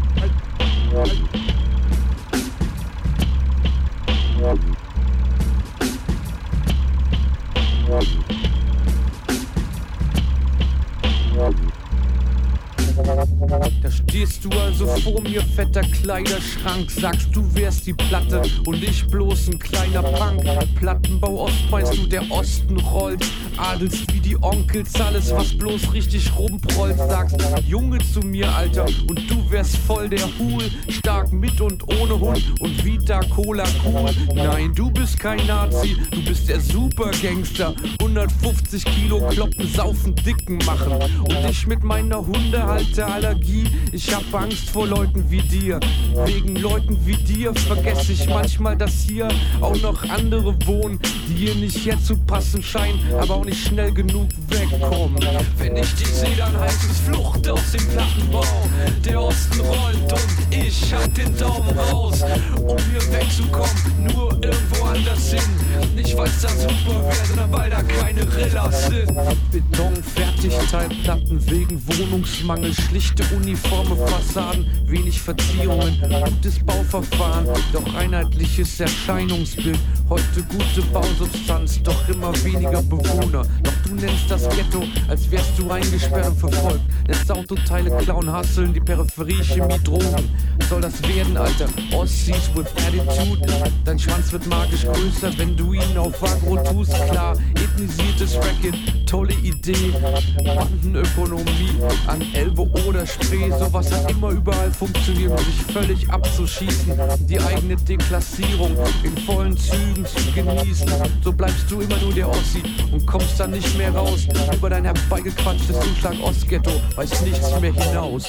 Da stehst du also vor mir, fetter Kleiderschrank. Sagst, du wärst die Platte und ich bloß ein kleiner Punk. Plattenbau Ost meinst du, der Osten rollt. Adelst wie die Onkels, alles was bloß richtig rumprollt. Sagst, Junge zu mir, Alter, und du wärst voll der Hul. Stark mit und ohne Hund und Vita Cola cool. Nein, du bist kein Nazi, du bist der Supergangster. hundertfünfzig Kilo kloppen, saufen, dicken machen. Und ich mit meiner Hundehalterallergie, ich hab Angst vor Leuten wie dir. Wegen Leuten wie dir vergesse ich manchmal, dass hier auch noch andere wohnen, die hier nicht herzupassen scheinen, aber auch nicht schnell genug wegkommen. Wenn ich die sehe, dann heißt es Flucht aus dem Plattenbau. Der Osten rollt und ich hab den Daumen raus, um hier wegzukommen, nur irgendwo anders hin. Nicht weil's da super wäre, sondern weil da keine Rillas sind. Beton, Fertigteilplatten wegen Wohnungsmangel, schlichte uniforme Fassaden, wenig Verzierungen, gutes Bauverfahren, doch einheitliches Erscheinungsbild. Heute gute Bausubstanz, doch immer weniger Bewohner. Doch du nennst das Ghetto, als wärst du eingesperrt und verfolgt. Lässt Autoteile klauen, hasseln, die Peripherie, Chemie, Drogen. Soll das werden, Alter? Ossis with attitude. Dein Schwanz wird magisch größer, wenn du ihn auf Agro tust. Klar, ethnisiertes Racket, tolle Idee. Bandenökonomie an Elbe oder Spree. Sowas hat immer überall funktioniert, um sich völlig abzuschießen. Die eigene Deklassierung in vollen Zügen zu genießen. So bleibst du immer nur der Ossi und kommst dann nicht mehr raus. Über dein herbeigequatschtes Zuschlag Ostghetto weiß nichts mehr hinaus.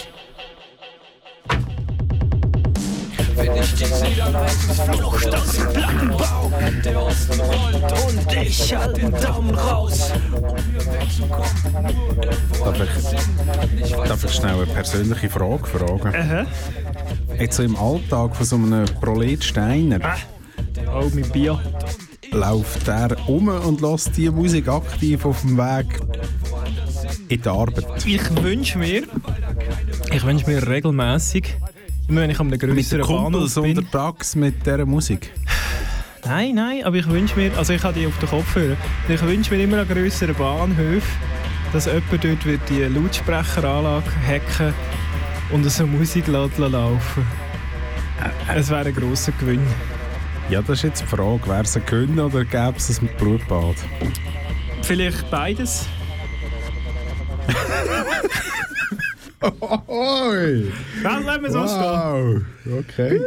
Wenn ich die sehe, dann heißt es Flucht aus dem Plattenbau. Der Osten rollt und ich halt den Daumen raus, um hier wegzukommen, nur irgendwo anders hin. Darf ich schnell eine persönliche Frage fragen? Aha. Jetzt so im Alltag von so einem Prolet Steiner. Ah. Oh, mein Bier. Läuft er um und lässt die Musik aktiv auf dem Weg in die Arbeit? Ich wünsche mir, ich wünsche mir regelmässig, immer wenn ich an einem grösseren Bahnhof bin. Mit untertags mit dieser Musik? Nein, nein, aber ich wünsche mir, also ich habe die auf den Kopfhörer, ich wünsche mir immer an grösseren Bahnhöfen, dass jemand dort wird die Lautsprecheranlage hacken und so Musik laufen lassen. Es wäre ein grosser Gewinn. Ja, das ist jetzt die Frage, wäre es ein Gewinn oder gäbe es ein Blutbad? Vielleicht beides. Oi. Das lassen wir so wow. stehen. Okay.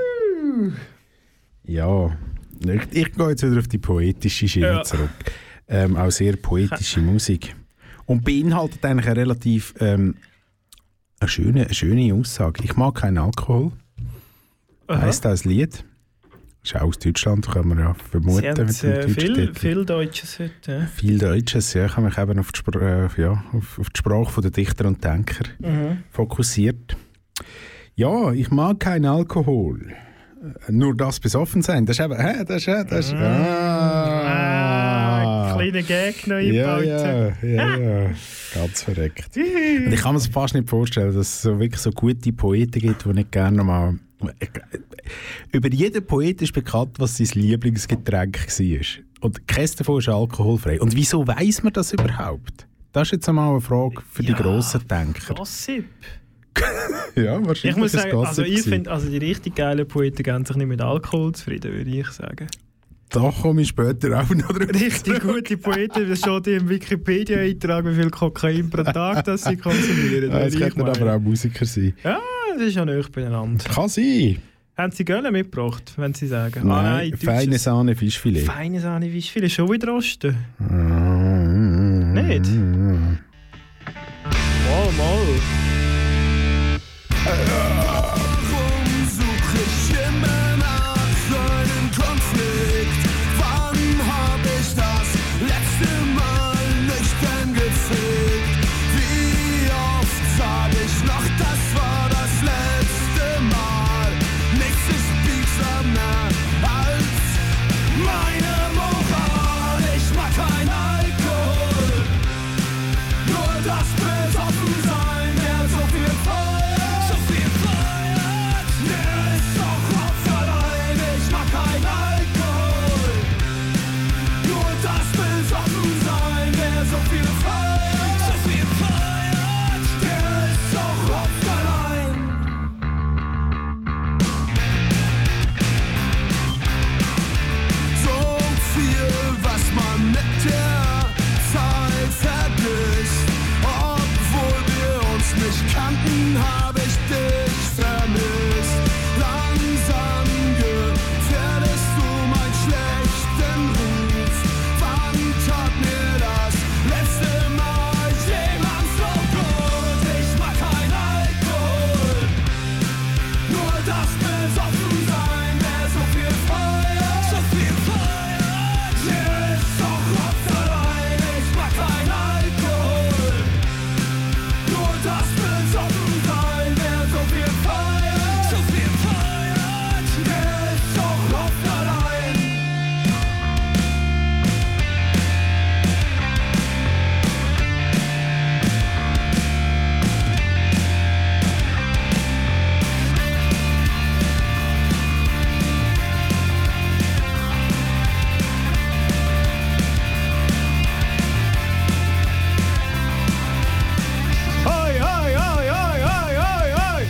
Ja, ich, ich gehe jetzt wieder auf die poetische Schiene ja. zurück. Ähm, auch sehr poetische Musik. Und beinhaltet eigentlich eine relativ ähm, eine schöne, eine schöne Aussage. Ich mag keinen Alkohol. Aha. Heisst das Lied? Ist auch aus Deutschland, kann man ja vermuten. Sie haben äh, viel, viel Deutsches heute. Ja. Viel Deutsches, ja. Ich habe mich eben auf die, Spr- äh, ja, auf, auf die Sprache der Dichter und Denker mhm. fokussiert. Ja, ich mag keinen Alkohol. Nur das besoffen sein. Das ist eben... Hä, das ist... Das ist mm. ah, ah, kleiner Gag noch eingebaut. Ja, ja, ja, ja. Ganz verreckt. Und ich kann mir fast nicht vorstellen, dass es so wirklich so gute Poeten gibt, die nicht gerne mal... Über jeden Poet ist bekannt, was sein Lieblingsgetränk war. Und keines davon ist alkoholfrei. Und wieso weiss man das überhaupt? Das ist jetzt einmal eine Frage für ja, die grossen Denker. Gossip. Ja, wahrscheinlich. Ich muss sagen, also ich finde, also die richtig geilen Poeten gehen sich nicht mit Alkohol zufrieden, würde ich sagen. Da komme ich später auch noch drüber. Richtig gute Poeten, das steht im Wikipedia-Eintrag, wie viel Kokain pro Tag das sie konsumieren. Ja, das könnten aber auch Musiker sein. Ja, das ist ja nicht beieinander. Kann sein. Haben Sie Gölle mitgebracht, wenn Sie sagen? Nein, ah, nein feine Sahne Fischfilet. Feine Sahne Fischfilet, schon wieder rosten? Mm, nicht? Mm, mal, mal. Warum suche ich immer nach so einem Konflikt? Wann hab ich das letzte Mal nüchtern gefickt? Wie oft sag ich noch, das war das letzte Mal? Nichts ist biegsamer als meine Moral. Ich mag kein Alkohol, nur das Besoffensein, der so viel feiert, so viel feiert. Der ist doch Kopf allein. Ich mag kein Alkohol, nur das Besoffensein, der so viel feiert, so viel feiert. Der ist doch Kopf allein. So viel, was man mit der Zeit vergisst. Obwohl wir uns nicht kannten, hab ich dich vermisst. Langsam gefährdest du meinen schlechten Ruf. Wann tat mir das letzte Mal jemand so gut? Ich mag kein Alkohol, nur das Besoffensein, der so viel feiert, so viel feiert. Der ist doch Kopf allein. Ich mag kein Alkohol, nur das Besoffensein, der so viel feiert, so viel feiert. Der ist doch Kopf allein. Hoi, hoi, hoi, hoi, hoi, hoi, hoi.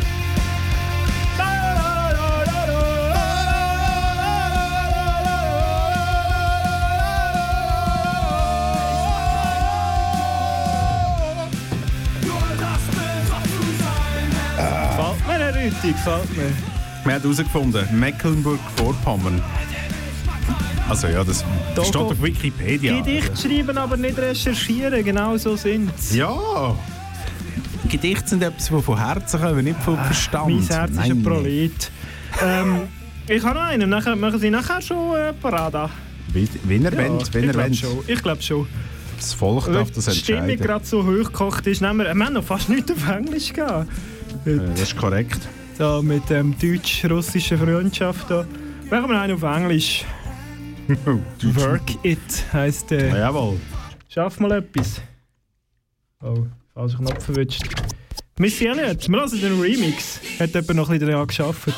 Gefällt mir, Herr Rüthi, gefällt mir. Wir haben herausgefunden, Mecklenburg-Vorpommern. Also ja, das Da steht geht- auf Wikipedia. Gedicht schreiben, aber nicht recherchieren, genau so sind sie. Ja! Gedichte sind etwas, das von Herzen kommen, nicht von Verstand. Mein Herz ist ein Nein. Prolet. ähm, ich habe noch einen, nachher, machen Sie nachher schon äh, Parade. Wie, wenn er wendet, wenn ich er glaube wendet. schon. Ich glaube schon. Das Volk darf das Weil die Stimmung entscheiden. gerade so hochgekocht ist, nehmen wir, wir haben noch fast nichts auf Englisch gehabt. Äh, Das ist korrekt. So, mit dem deutsch-russischen Freundschaft da. Machen wir einen auf Englisch. Work It heisst der. Ja, jawohl. Schaff mal etwas. Oh, falscher Knopf verwünscht. Wir sind ja nicht. Wir lassen den Remix. Hat jemand noch ein bisschen daran gearbeitet?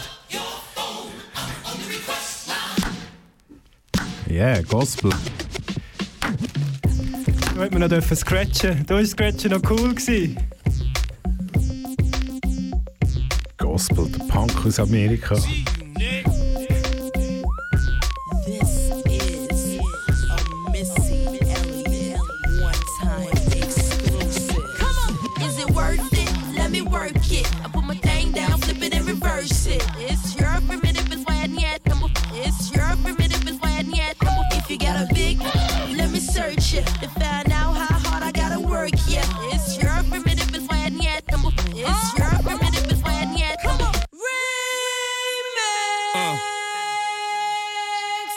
Yeah, Gospel. Da hätten wir noch dürfen scratchen. Da war Scratchen noch cool gewesen. Gospel, der Punk aus Amerika. Is it worth it? Let me work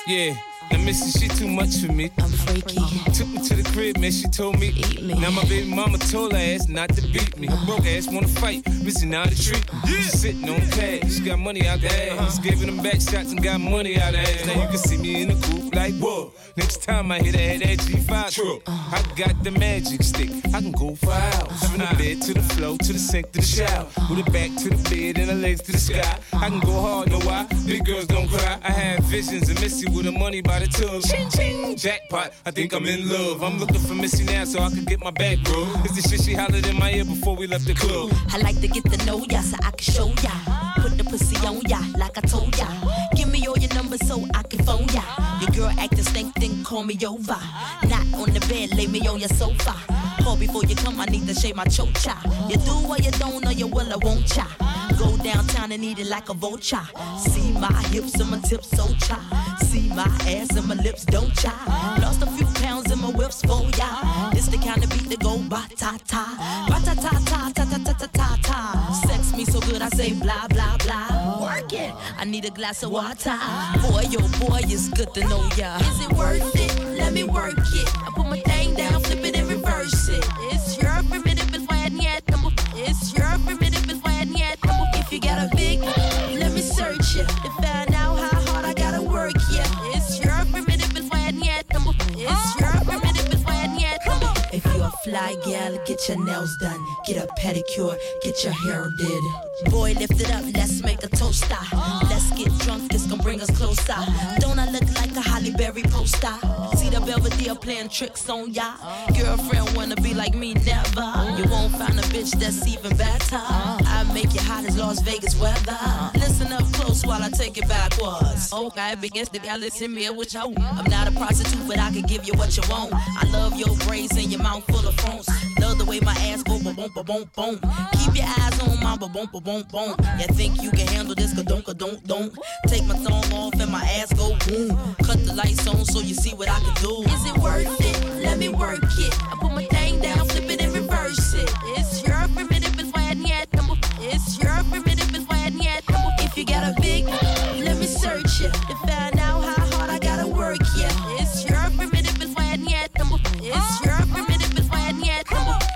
Yeah. Now, Missy, she too much for me. I'm freaky. Took me to the crib, man, she told me. Eat me. Now my baby mama told her ass not to beat me. Uh-huh. Broke ass wanna fight, Missy now to treat me. Yeah. She sitting on cash, she got money out the ass. Uh-huh. Giving them back shots and got money out the ass. Now you can see me in the coupe like, whoa. Next time I hit her head, that G five truck. Uh-huh. I got the magic stick, I can go for hours. From the bed to the floor, to the sink, to the shower. With her back to the bed and her legs to the sky. I can go hard, know why? Big girls don't cry. I had visions of Missy with her money by the tub. Ching, ching, jackpot, I think I'm in love. I'm looking for Missy now so I can get my back, bro. It's the shit she hollered in my ear before we left the club. I like to get to know ya so I can show ya. Put the pussy on ya like I told ya. Give me all your numbers so I can phone ya. Your girl acting stink, then call me over. Not on the bed, lay me on your sofa. Call before you come, I need to shave my chocha. You do or you don't, or you will or won't cha. Go downtown and eat it like a vulture. See my hips and my tips so cha. See my ass and my lips don't cha. Lost a few pounds in my whips for ya. This the kind of beat that go ba-ta-ta. Ba-ta-ta-ta, ta-ta-ta-ta-ta-ta. Sex me so good I say blah, blah, blah. Work it, I need a glass of water. Boy, oh boy, it's good to know ya. Is it worth it? Let me work it. I put my thing down, flip it and reverse it. It's your primitive, it's why yet. It's your primitive, it's why yet. If you got a big, let me search it. To find out how hard I gotta work, yeah. It's your primitive, it's why yet. It's your primitive, it's why yet. If you're a fly gal, get your nails done. Get a pedicure, get your hair did. Boy, lift it up, let's make a toaster. Let's get drunk, this gon' bring us closer. Don't I look like a Halle Berry poster? See the Belvedere playing tricks on ya. Girlfriend wanna be like me, never. You won't find a bitch that's even better. I make it hot as Las Vegas weather. Listen up close while I take it backwards. Okay, begins to be listen me what you want. I'm not a prostitute, but I can give you what you want. I love your braids and your mouth full of phones. Love the way my ass go boom boom boom boom. Keep your eyes on my boom boom boom boom. You think you can handle this? Ka don't, ka don't, don't. Take my thumb off and my ass go boom. Cut the lights on so you see what I can do. Is it worth it? Let me work it. I put my thing down, flip it and reverse it. It's your primitive, it's why yet. It's your primitive, it's why yet. If you got a big, let me search it to find out how hard I gotta work. Yeah, it's your primitive, it's why yet. It's your primitive, it's why yet.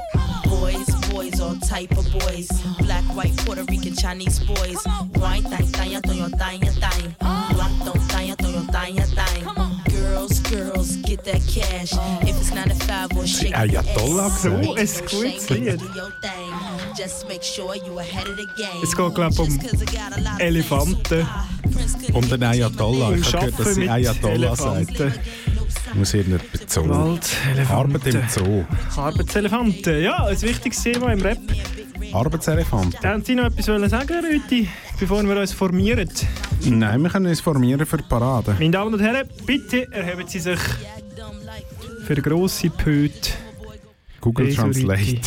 Boys, boys, all type of boys. Black, white, Puerto Rican, Chinese boys. White, thang, thang, thang, thang, thang. Black, don't thang, thang, thang, thang. Girls, girls, get that cash. If it's nine to five or shake your ass. So ein gutes Lied. Es geht, glaube ich, um Elefanten. Um den Ayatollah. Ich habe gehört, dass sie Ayatollah sagt. Muss irgendjemand Zoo. Arbeit im Zoo. Arbeitselefanten. Ja, ein wichtiges Thema im Rap. Arbeitselefanten. Haben Sie noch etwas sagen, Rüti, bevor wir uns formieren? Nein, wir können uns formieren für die Parade. Meine Damen und Herren, bitte erheben Sie sich für eine grosse Pöte. Google Translate.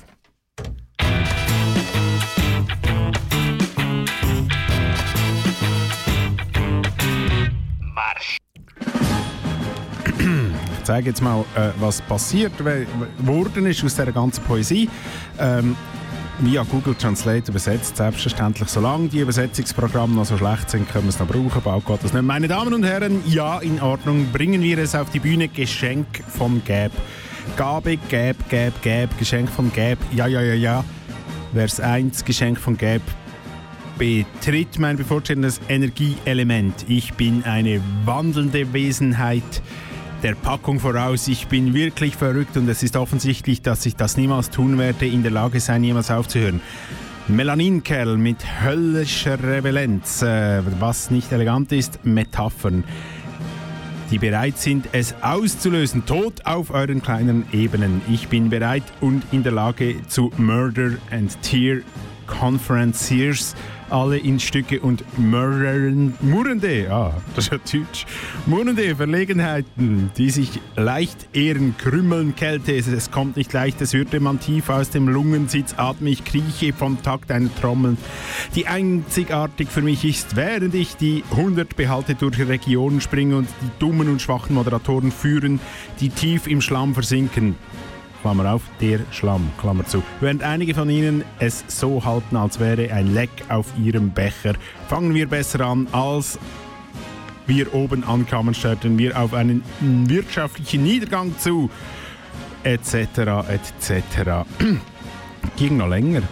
Ich zeige jetzt mal, äh, was passiert worden ist aus dieser ganzen Poesie. Ähm, via Google Translate übersetzt, selbstverständlich. Solange die Übersetzungsprogramme noch so schlecht sind, können wir es noch brauchen. Bald geht das nicht. Meine Damen und Herren, ja, in Ordnung. Bringen wir es auf die Bühne. Geschenk von Gab. Gabe, Gab, Gab, Gab. Geschenk von Gab. Ja, ja, ja, ja. Vers eins, Geschenk von Gab. Betritt mein bevorstehendes Energieelement. Ich bin eine wandelnde Wesenheit. Der Packung voraus, ich bin wirklich verrückt und es ist offensichtlich, dass ich das niemals tun werde, in der Lage sein, jemals aufzuhören. Melaninkerl mit höllischer Revelenz, äh, was nicht elegant ist, Metaphern, die bereit sind, es auszulösen, tot auf euren kleinen Ebenen. Ich bin bereit und in der Lage zu Murder and Tear Conferenciers, alle in Stücke und Murren, murrende, ah, das ist ja Deutsch, murrende Verlegenheiten, die sich leicht ehren, krümmeln, Kälte, es, es kommt nicht leicht, es hörte man tief aus dem Lungensitz, atme ich, krieche vom Takt einer Trommel, die einzigartig für mich ist, während ich die hundert Behalte durch Regionen springe und die dummen und schwachen Moderatoren führen, die tief im Schlamm versinken. Klammer auf, der Schlamm, Klammer zu. Während einige von Ihnen es so halten, als wäre ein Leck auf Ihrem Becher, fangen wir besser an als Wir oben ankamen, steuerten wir auf einen wirtschaftlichen Niedergang zu, et cetera et cetera. Ging noch länger.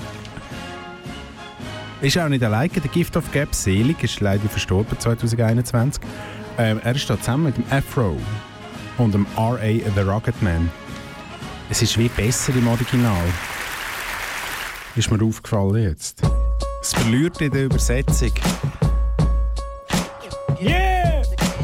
Ist auch nicht alleine. Der Gift of Gab Selig ist leider verstorben zwanzig einundzwanzig. Ähm, er ist da zusammen mit dem Afro und dem R A The Rugged Man. Es ist wie besser im Original. Ist mir aufgefallen jetzt. Es verliert in der Übersetzung. Yeah!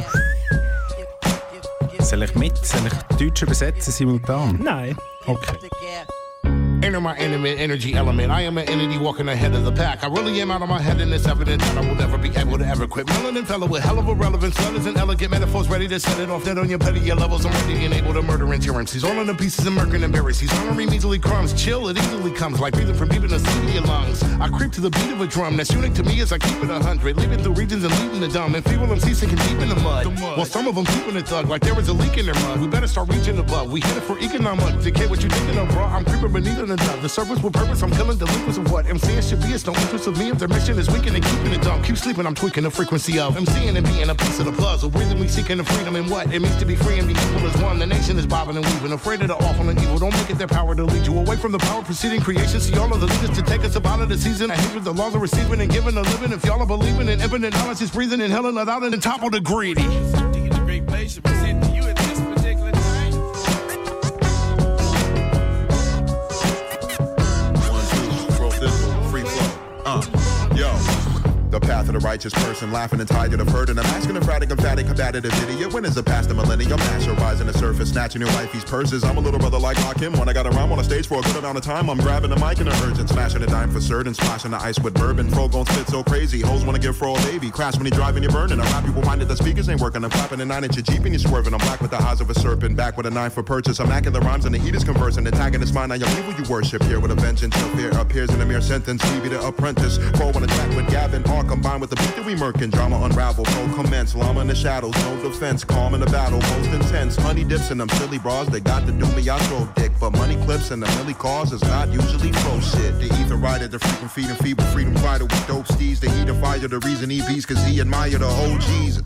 Soll ich mit? Soll ich Deutsch übersetzen simultan? Nein. Okay. Enter my intimate energy element. I am an entity walking ahead of the pack. I really am out of my head, and it's evident that I will never be able to ever quit. Melanin fellow with hell of a relevance, letters and elegant metaphors ready to set it off. Dead on your petty levels, I'm ready and able to murder endurance. He's all in the pieces and murking and berries. He's honoring measly crumbs. Chill, it easily comes like breathing from deep in the sea of your lungs. I creep to the beat of a drum that's unique to me as I keep it a hundred. Leaving through regions and leaving the dumb. And feeble M Cs sinking deep in the mud. the mud. While some of them keeping it thug like there is a leak in their mud. We better start reaching above. We hit it for economic. To get what you're thinking of, bro. I'm creeping beneath in the dove. The surface will purpose, I'm killing delinquents of what MCing should be. It's no interest of me if their mission is weakening and keeping it dumb. Keep sleeping, I'm tweaking the frequency of MCing and being a piece of the puzzle. Breathing, seeking the freedom and what it means to be free and be equal as one. The nation is bobbing and weaving, afraid of the awful and evil. Don't make it their power to lead you away from the power preceding creation. See all of the leaders to take us up out of the season. I hate with the laws of receiving and giving a living. If y'all are believing in infinite knowledge, is breathing and hell without it and topple the greedy. It's a great place to present to you at this particular time. Uh, yo, the path of the righteous person, laughing and tired of hurt, and I'm asking emphatic, emphatic, combative idiot. When is it past the millennium? Master rising the surface, snatching your wifey's purses. I'm a little brother like Hakim. When I got a rhyme on a stage for a good amount of time, I'm grabbing the mic in a urgent, smashing a dime for certain, splashing the ice with bourbon. Fro gon' spit so crazy, hoes wanna give Fro a baby. Crash when he driving, you're burning. I rap you reminded the speakers ain't working. I'm clapping a nine inch Jeep and you're swerving. I'm black with the eyes of a serpent, back with a nine for purchase. I'm macking the rhymes and the heat is conversing, attacking this mind. Now your people you worship here with a vengeance. Your fear appears in a mere sentence. Leave you the apprentice. Fro on a track with Gavin, all combined with the beat that we murking. Drama unravel, no commence. Llama in the shadows, no defense. Calm in the battle, most intense. Honey dips in them silly bras. They got to do me, I throw dick. But money clips and the milli cause is not usually pro shit. The ether rider, the freaking feeding feeble freedom fighter with dope steeds. The heat of fire, the reason he beats, cause he admire the O Gs.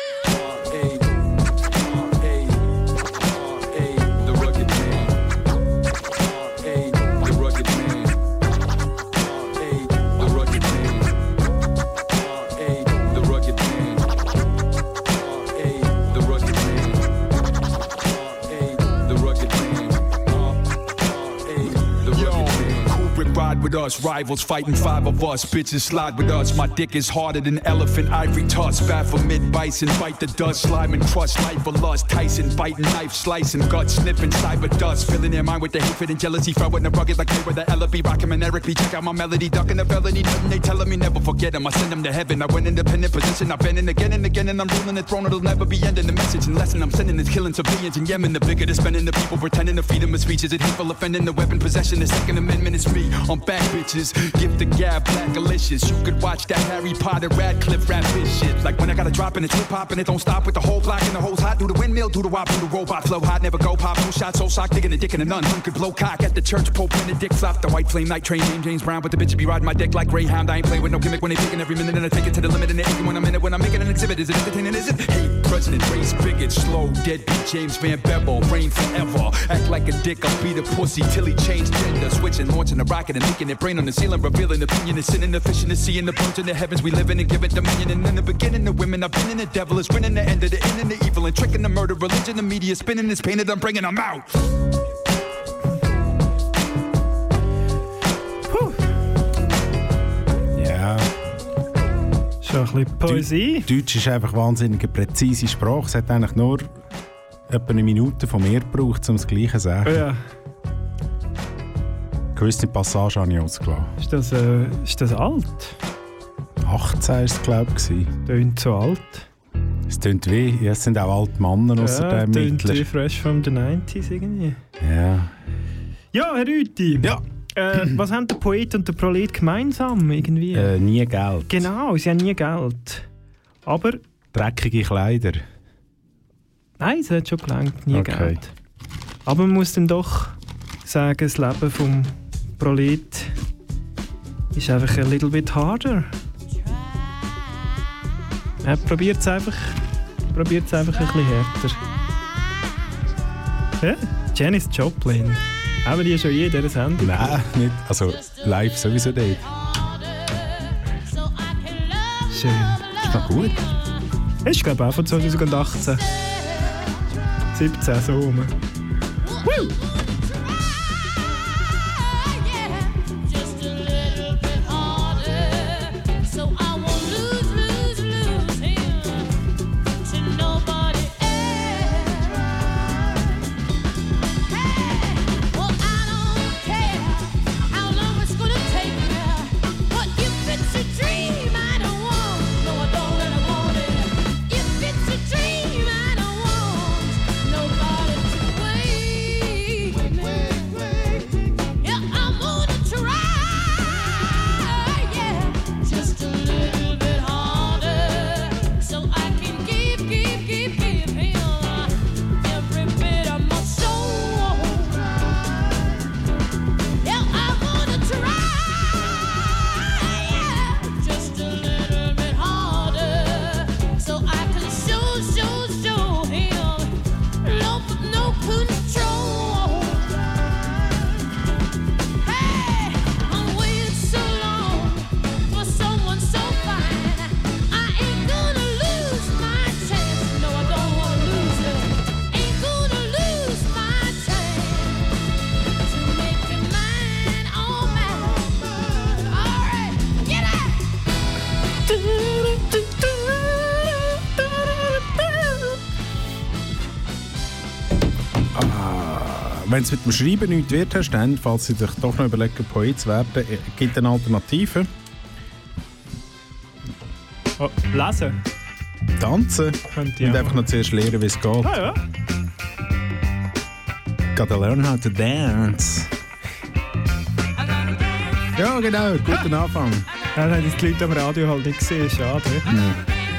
With us, rivals fighting five of us. Bitches slide with us. My dick is harder than elephant ivory tusk. Baphomet bison, bite the dust. Slime and crush life for lust. Tyson biting knife, slicing guts, sniffing cyber dust. Filling their mind with the hatred and jealousy. Throwing the rugged like they were the Ella B. Rockin' and Eric B. Check out my melody, ducking the felony. Nothing they telling me never forget them. I send them to heaven. I went independent position. I've been in again and again, and I'm ruling the throne. It'll never be ending. The message and lesson I'm sending is killing civilians in Yemen. The bigger they're spending, the people pretending to feed them with speeches. It hateful offending the weapon possession. The Second Amendment is me. I'm back, bitches. Give the gab black delicious. You could watch that Harry Potter Radcliffe rap this shit. Like when I got a drop and it's hip hop and it don't stop with the whole block and the hoes hot. Do the windmill, do the wop, do the robot flow hot. Never go pop, no shot, so sock, digging a dick in a nun. Who could blow cock at the church, Pope Benedict flop. The white flame night train named James Brown, but the bitch be riding my dick like Greyhound. I ain't playing with no gimmick when they picking every minute and I take it to the limit and they aching when I'm in it. When I'm making an exhibit, is it entertaining? Is it? Hate, president, race, bigot, slow, deadbeat, James Van Bevel, reign forever. Act like a dick, I'll beat a pussy till he changed gender. Switching, launching a rocket and making it brain on the ceiling, revealing opinion. The sin and the fish and the sea and the birds in the heavens. We live in and give it dominion. And in the beginning, the women I've been in, the devil is winning. The end of the end and the evil and tricking the murder, religion, the media spinning this painted. I'm bringing them out. Ja. Schon ein bisschen Poesie. Deutsch ist einfach wahnsinnig eine präzise Sprache. Es hat eigentlich nur etwa eine Minute von mir gebraucht, um das Gleiche zu sagen. Ja. Gewisse Passage habe ich ausgelassen. Ist das, äh, ist das alt? achtzehn war es, glaube ich. Tönt so alt. Es tönt wie, ja, es sind auch alte Männer außer ja, dem tönt Mittler. wie fresh from the nineties irgendwie. Ja. Ja, Herr Rüthi. Ja. Äh, was haben der Poet und der Prolet gemeinsam irgendwie? Äh, nie Geld. Genau, sie haben nie Geld. Aber... Dreckige Kleider. Nein, es hat schon gelangt, nie okay. Geld. Aber man muss dann doch sagen, das Leben vom Prolet ist einfach ein little bit harder. Ja, probiert es einfach, probiert's einfach ein bisschen härter. Ja, Janis Joplin. Haben die schon je in dieser Sendung? Nein, nicht. Also live sowieso nicht. Schön. Ist noch gut. Das ist, glaube ich, auch von zwanzig achtzehn. siebzehn, so rum. Woo! Wenn es mit dem Schreiben nichts wird, hast, dann, falls Sie sich doch noch überlegen, Poet zu werden, gibt es eine Alternative. Oh, lesen? Tanzen. Könnte Und ja. einfach noch zuerst lernen, wie es geht. Ah, ja. Gotta learn how to dance. Ja, genau. Guten Anfang. Ja, dann haben die Leute am Radio halt nicht gesehen. Schade. Mhm.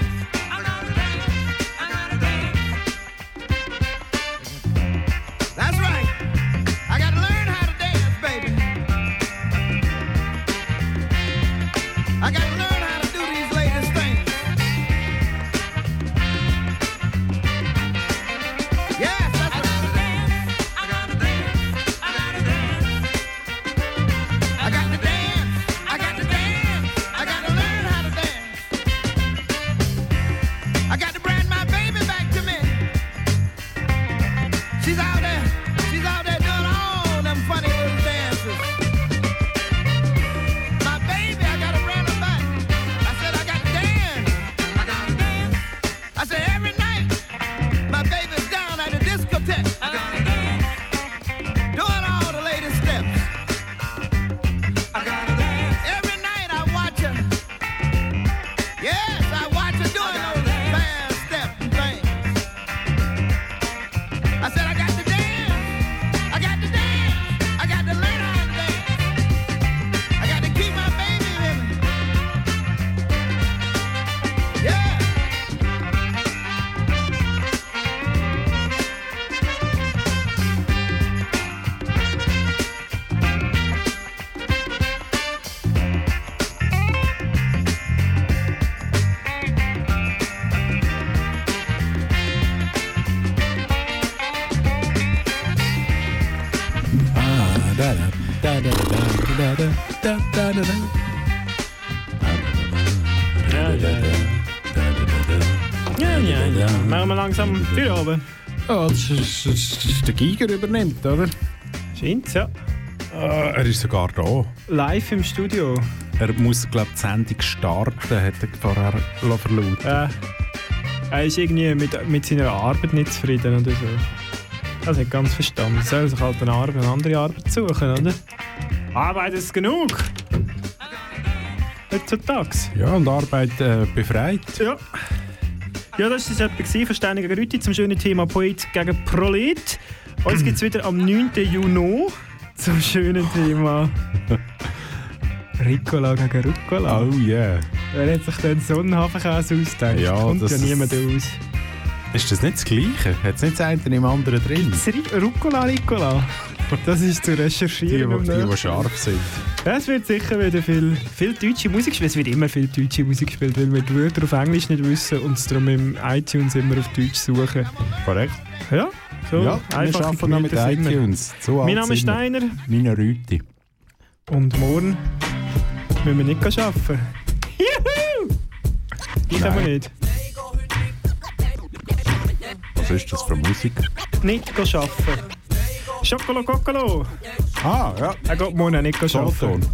Ja, ja, ja. Machen wir langsam wieder runter. Ja, das ist, das ist der Giger übernimmt, oder? Scheint's, ja. Ah, er ist sogar da. Live im Studio. Er muss, glaube ich, die Sendung starten, hat er vorher verlauten. Äh, er ist irgendwie mit, mit seiner Arbeit nicht zufrieden oder so. Das nicht ganz verstanden. Er soll sich halt eine, Arbeit, eine andere Arbeit suchen, oder? Arbeit ist genug! Heutzutage. Ja, und Arbeit äh, befreit. Ja. Ja, das war etwas von Steine gegen Rüti zum schönen Thema Poet gegen Prolet. Uns gibt es wieder am neunten Juni zum schönen Thema Ricola gegen Rucola. Oh yeah. Wer hat sich denn Sonnenhafenkäse ausgedacht? Ja, kommt das ja niemand aus. Ist das nicht das Gleiche? Hat es nicht das eine im anderen drin? Gibt's Ri- Rucola, Ricola? Das ist zu recherchieren. Die, die, die, die scharf sind. Ja, es wird sicher wieder viel, viel deutsche Musik gespielt. Es wird immer viel deutsche Musik gespielt, weil wir die Wörter auf Englisch nicht wissen und es darum im iTunes immer auf Deutsch suchen. Korrekt. Ja, so ja, einfach. Wir arbeiten noch mit iTunes. So mein Name ist Steiner. Meine Rüti. Und morgen müssen wir nicht arbeiten. Juhu! Ich kann wir nicht. Was ist das für Musik? Nicht arbeiten. Schokolo Kokolo. Ah, ja. Er geht morgen nicht arbeiten.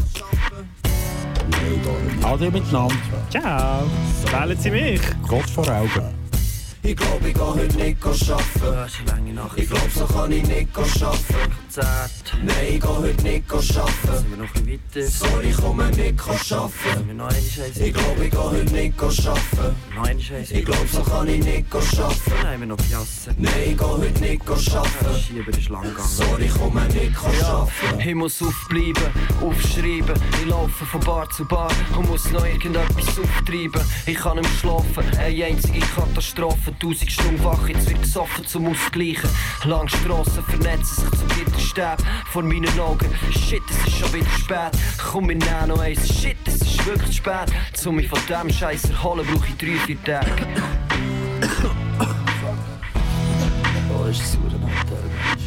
Ade miteinander. Ciao. Wählen Sie mich. Gott vor Augen. Ich glaub, ich geh heute nicht arbeiten. Ich glaub, so kann ich nicht arbeiten. Nein, ich geh heute nicht arbeiten. Sorry, ich komme nicht arbeiten. Ich glaub, ich geh heute nicht arbeiten. Ich glaub, so kann ich nicht arbeiten. Nein, ich geh heute nicht arbeiten. Sorry, ich komme nicht arbeiten. Ich muss aufbleiben, aufschreiben. Ich laufe von Bar zu Bar und muss noch irgendetwas auftreiben. Ich kann nicht mehr schlafen, eine einzige Katastrophe. Tausend Stunden wach, jetzt wird gesoffen zum Ausgleichen. Lange Strassen vernetzen sich zu Gitterstäben vor meinen Augen. Shit, es ist schon wieder spät. Komm, wir nehmen noch eins. Shit, es ist wirklich spät. Um mich von dem Scheiß erholen, brauche ich drei, vier Tage. Oh, ist das sauer Nacht,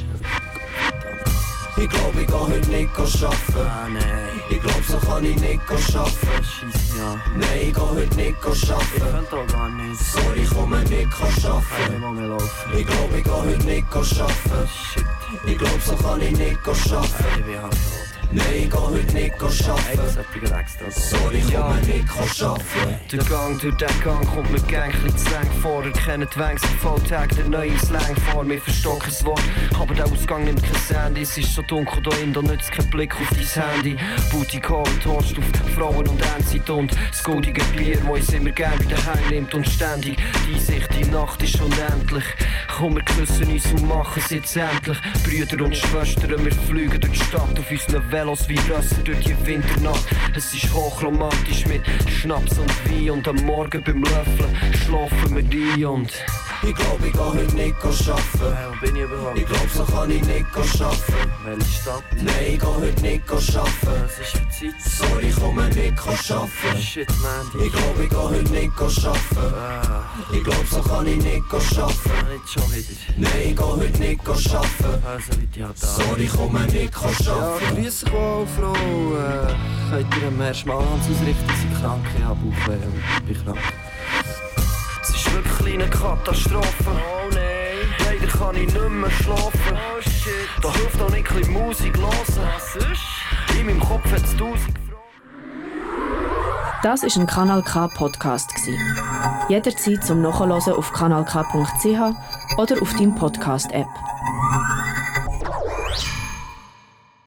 ich glaub, ich geh heute nicht arbeiten. Ah, nein. Ich glaub, so kann ich nicht arbeiten. Scheisse, ja. Nein, ich geh heute nicht arbeiten. Ich könnte auch gar nicht. Sorry, ich komme nicht arbeiten. Ich will mehr laufen. Ich glaub, ich geh heute nicht arbeiten. Shit. Ich glaub, so kann ich nicht arbeiten. Ich bin halt tot. Nein, ich geh heute nicht arbeiten. Sorry, ich komme nicht arbeiten. Der Gang durch den Gang kommt mir gänglich zu lang vor. Erkennen die Wänge, sie Volltag, der neue Slang vor mir verstocken das Wort. Aber der Ausgang nimmt kein Sandy. Es ist so dunkel da in, da nützt kein Blick auf dein Handy. Booty Call, Torst auf Frauen und Endzeit und das goldige Bier, wo uns immer gern bei den Hängen nimmt und ständig. Die Sicht, die Nacht ist unendlich. Komm, wir küssen uns und machen es jetzt endlich. Brüder und Schwestern, wir fliegen durch die Stadt auf unseren Velos wie Rösser durch die Winternacht. Es ist hochromantisch mit Schnaps und Wein und am Morgen beim Löffeln schlafen wir ein und... Ich glaub, ich geh heute nicht arbeiten. Hey, wo bin ich überhaupt? Ich glaub, so kann ich nicht arbeiten. Welche Stadt? Nein, ich geh heute nicht arbeiten. Was ist für Zeit? Sorry, ich komme nicht arbeiten. Shit, man. Ich glaub, ich geh heute nicht arbeiten. Ah. Ich glaub, so kann ich nicht arbeiten. Nicht schon wieder. Nein, ich geh heute nicht arbeiten. Also, wie die hat da. Sorry, ich komme nicht arbeiten. Ja, grüß dich wohl, Frau. Äh, könnt ihr am Herrn Schmalhans ausrichten? Sie ist krank, ich hab Bauchweh und bin krank. Es ist wirklich eine Katastrophe. Oh nein. Leider kann ich nicht mehr schlafen. Oh shit. Da hilft auch nicht ein bisschen Musik hören. Was ist? In meinem Kopf hat es tausend Fragen. Das war ein Kanal K Podcast. Jederzeit zum Nachhören auf kanal k punkt c h oder auf deinem Podcast-App.